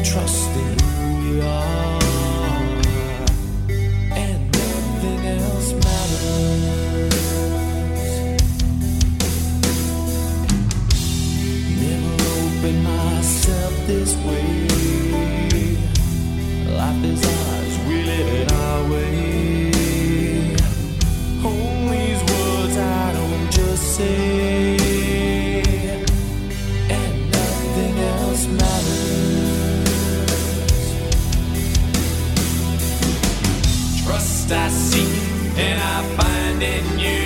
trust in who we are, and nothing else matters. Never opened myself this way. Life is ours, we live it our way. Hold these words I don't just say, and nothing else matters. Trust I seek and I find in you.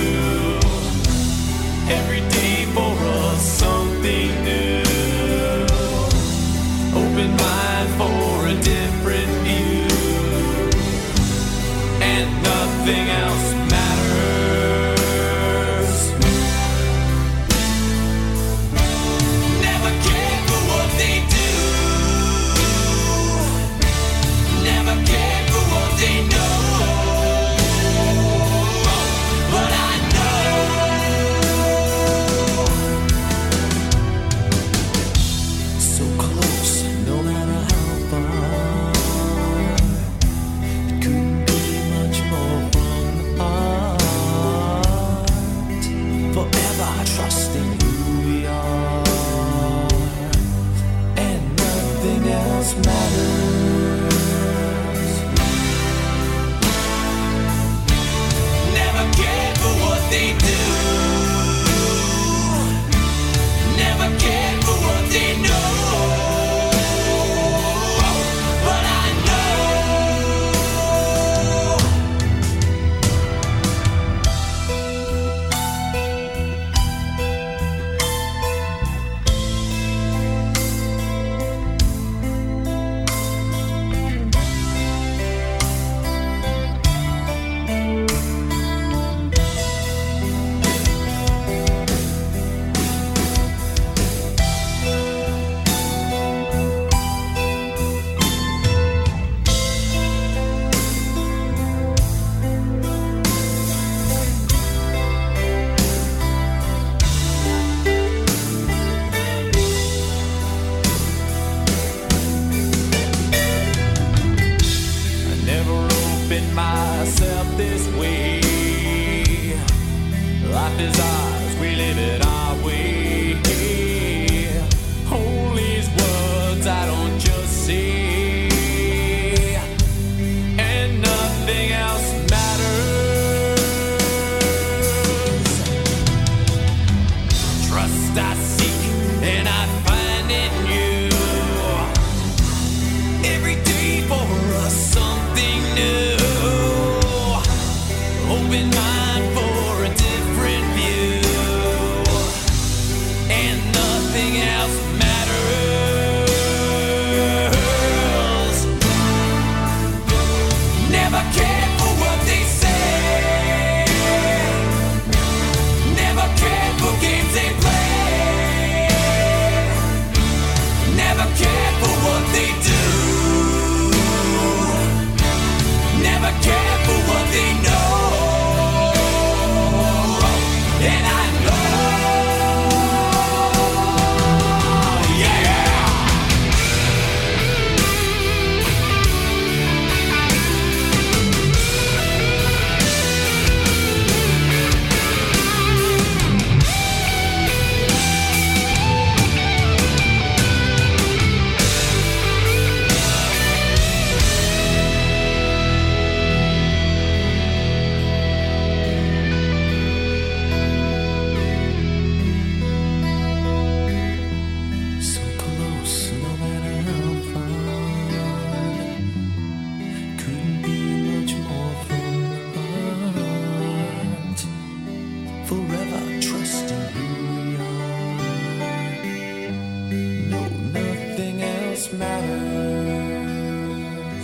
Every day for us something new. Open mind for a different view, and nothing else matters. Never cared for what they do, never cared for what they know, but I know so close, no matter how far. It couldn't be much more from the heart. Forever trusting who we are, and nothing else matters. Never cared for what they do, never cared for what they know, but I know I never opened myself this way. Life is ours, we live it our way. Hold these words I don't just say, and nothing else matters. Trust I seek and I find in you. Every day for us something new. Open mind for a different view, and nothing else matters. Never cared for what they say, never cared for games they play, never cared for what they do, never cared for what they know, and I know, yeah. So close, no matter how far. Couldn't be much more from the heart. Forever trusting who we are. No, nothing else matters.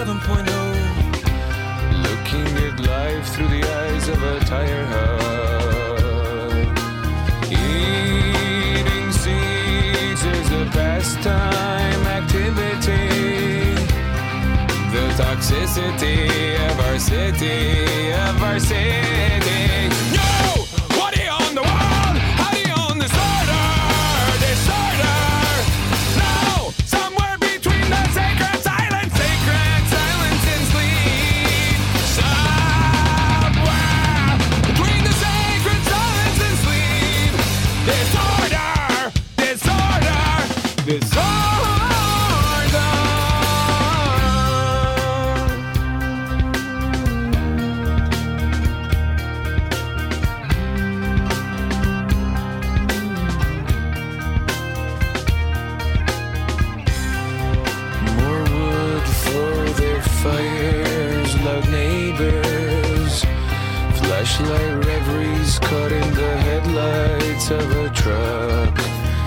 seven point oh. Looking at life through the eyes of a tire hub. Eating seeds is a pastime activity. The toxicity of our city, of our city. No! What do you own the world? How do you own disorder? Disorder! No! Somewhere between the sacred silence, sacred silence and sleep. Somewhere between the sacred silence and sleep. Disorder! Disorder! Disorder! Flashlight reveries caught in the headlights of a truck.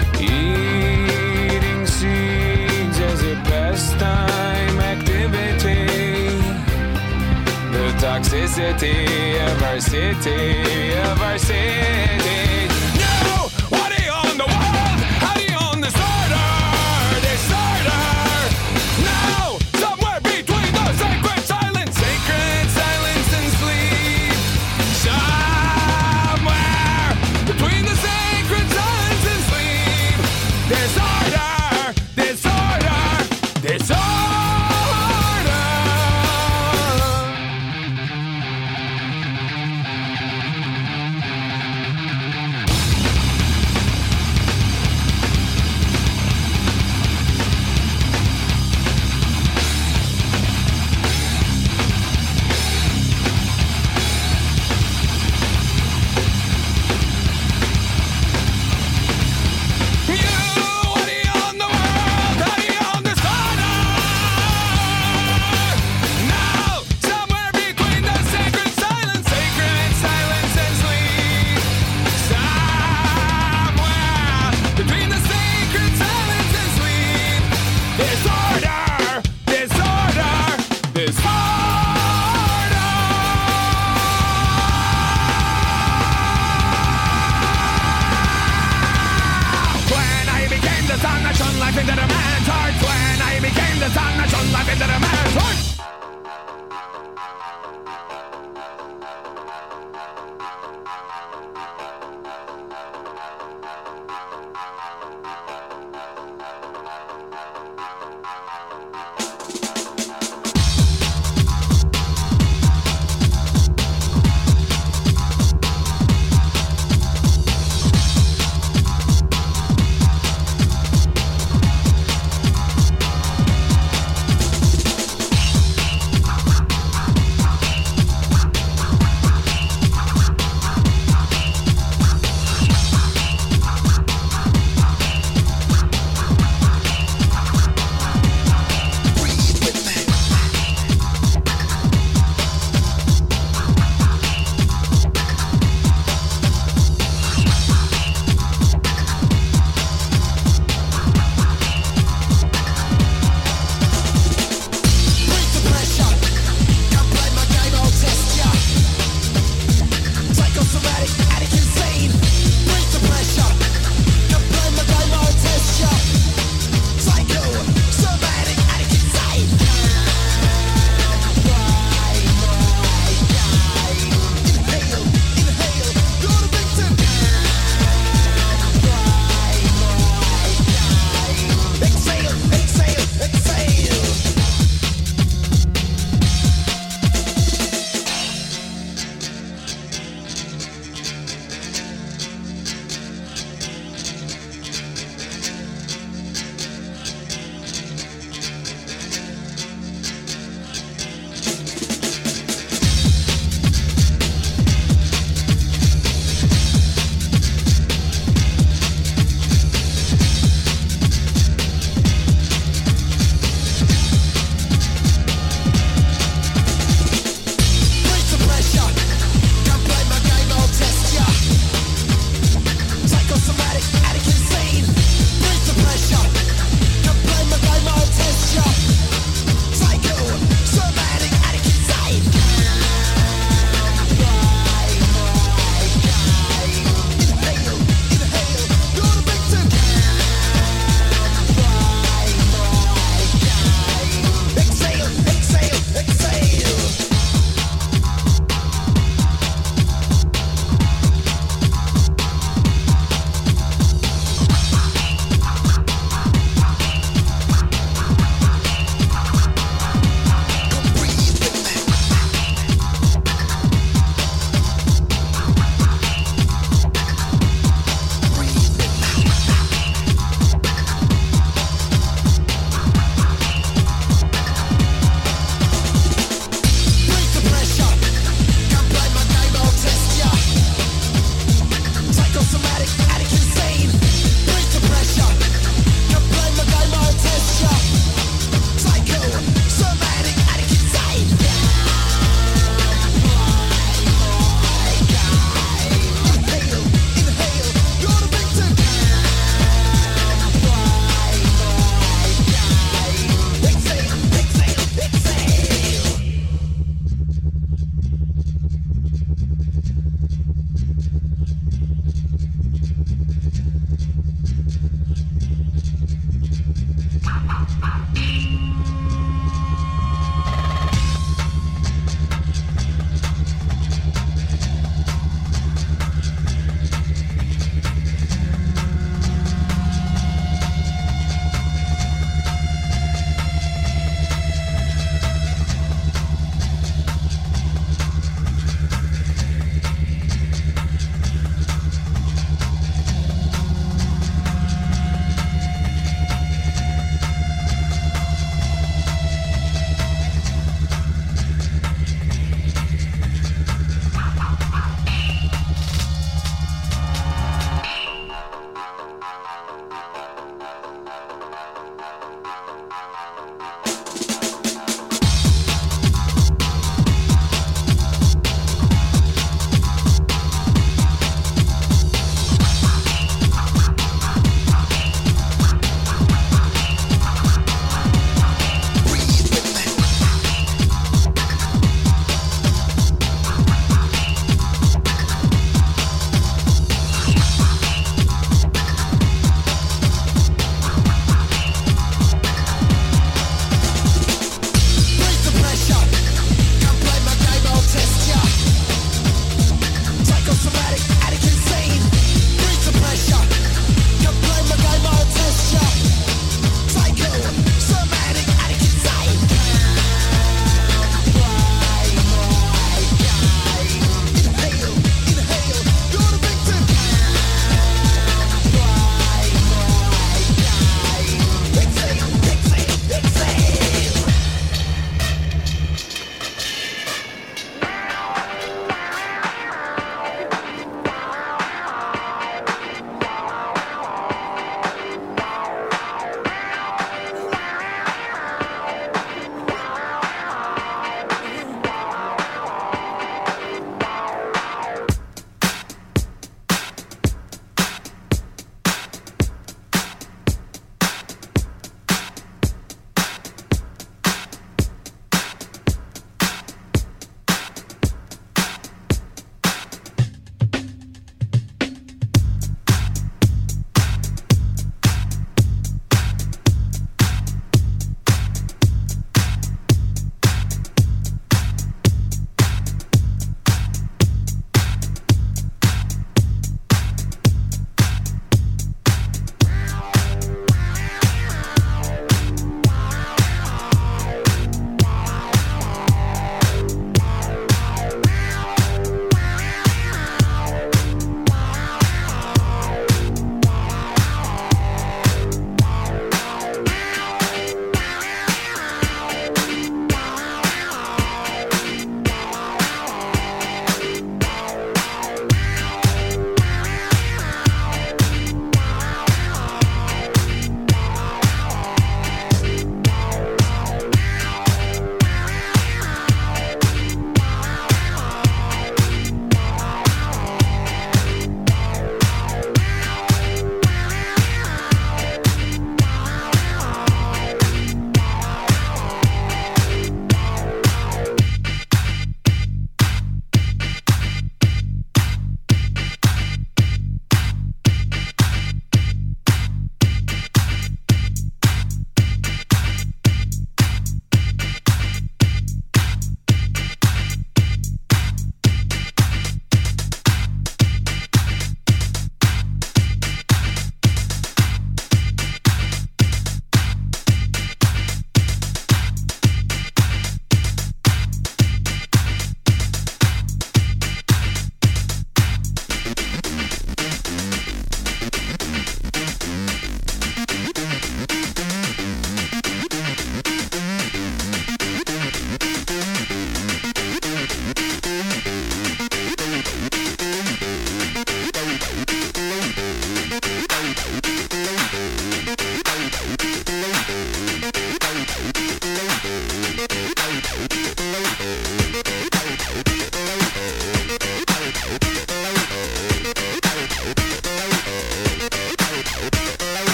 Eating seeds as a pastime activity. The toxicity of our city, of our city. No! What do you own the world? How do you own disorder? Disorder! No! Somewhere between the sacred silence, sacred silence and sleep. Somewhere between the sacred silence and sleep. Disorder, disorder, disorder.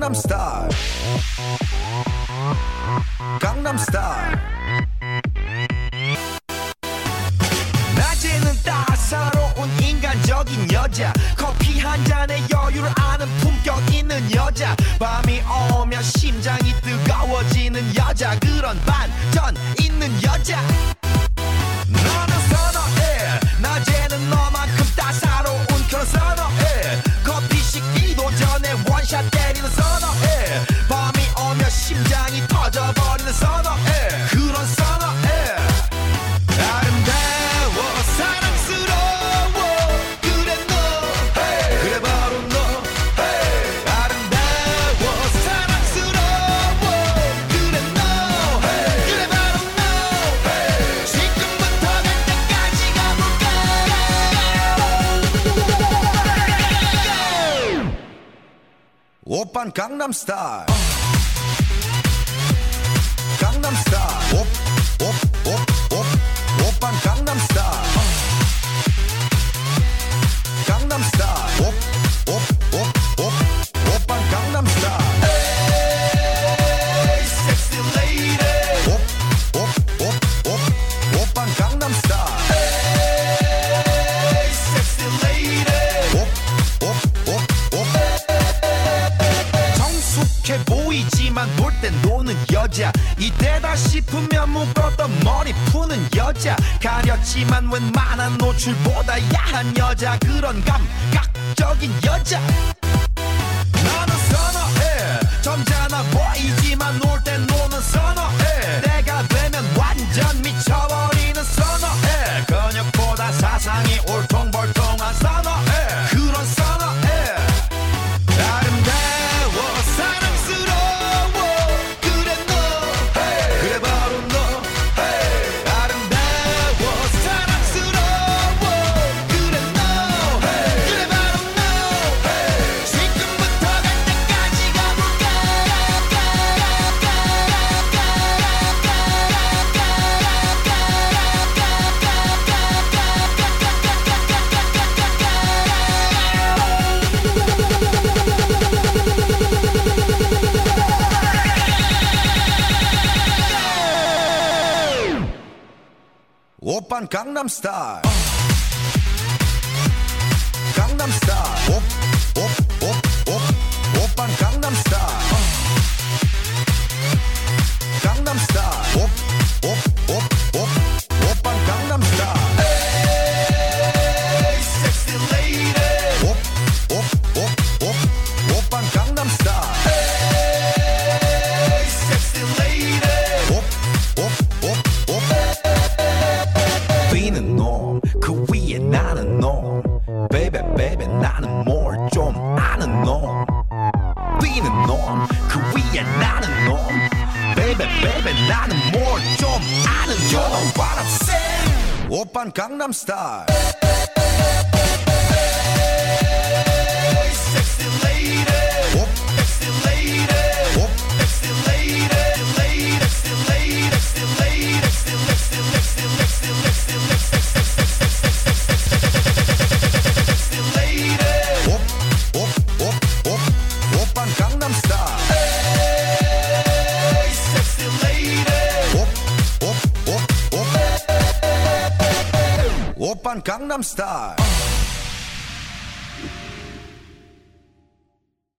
강남스타일 강남스타일 낮에는 따사로운 인간적인 여자 커피 한 잔에 여유를 아는 품격 있는 여자 밤이 오면 심장이 뜨거워지는 여자 그런 반전 있는 여자 너는 선어해 낮에는 너만큼 따사로운 그런 선어해 커피 식기도 전에 원샷 때리는 선어해 밤이 오면 심장이 터져버리는 선어해 그런 선어해 아름다워 사랑스러워 그래 너 hey. 그래 바로 너 hey. 아름다워 사랑스러워 그래 너 hey. 그래 바로 너 hey. 지금부터 갈 때까지 가볼까 오빤 강남스타일 강남스타일 오, 오, 오, 오. 오빤 강남스타일 강남스타일 오, 오, 오, 오. 오빤 강남스타일 에이 섹시 레이디 오, 오, 오, 오. 오빤 강남스타일 에이 섹시 레이디 오, 오, 오, 오. 성숙해 보이지만 놀 땐 노는 여자 이때다 싶으면 묶었던 머리 푸는 여자 가렸지만 웬만한 노출보다 야한 여자 그런 감각적인 여자 나는 선어해 점잖아 보이지만 놀 땐 노는 선어해 내가 되면 완전 미쳐버리는 선어해 근육보다 사상이 울퉁불퉁한 선어해 그런 선어해 아름다워 사랑스러워 그래 너 hey. 그래 바로 너 hey. 아름다워 사랑스러워 그래 너 hey. 그래 바로 너 hey. 지금부터 갈 때까지 가볼까 오빤 강남스타일 강남스타일 오, 오, 오, 오. 오빤 강남스타일 강남스타일 오, 오, 오, 오. 오빤 강남스타일 에이 섹시 레이디 오, 오, 오, 오. 오빤 강남스타일 에이 섹시 레이디 오, 오, 오, 오. 뛰는 놈, 그 위에 나는 놈 Baby, baby, 나는 뭘 좀 아는 놈 뛰는 놈, 그 위에 나는 놈 Baby, baby, 나는 뭘 좀 아는 놈 You know what I'm saying 오빤 강남스타일 Hey, sexy lady 오, sexy lady 오, sexy lady lady, sexy lady, sexy lady, sexy, sexy, sexy, sexy, sexy, sexy, sexy lady 오, 오, 오, 오. 오빤 강남스타일 Hey, sexy lady 오, 오, 오, 오. 오빤 강남스타일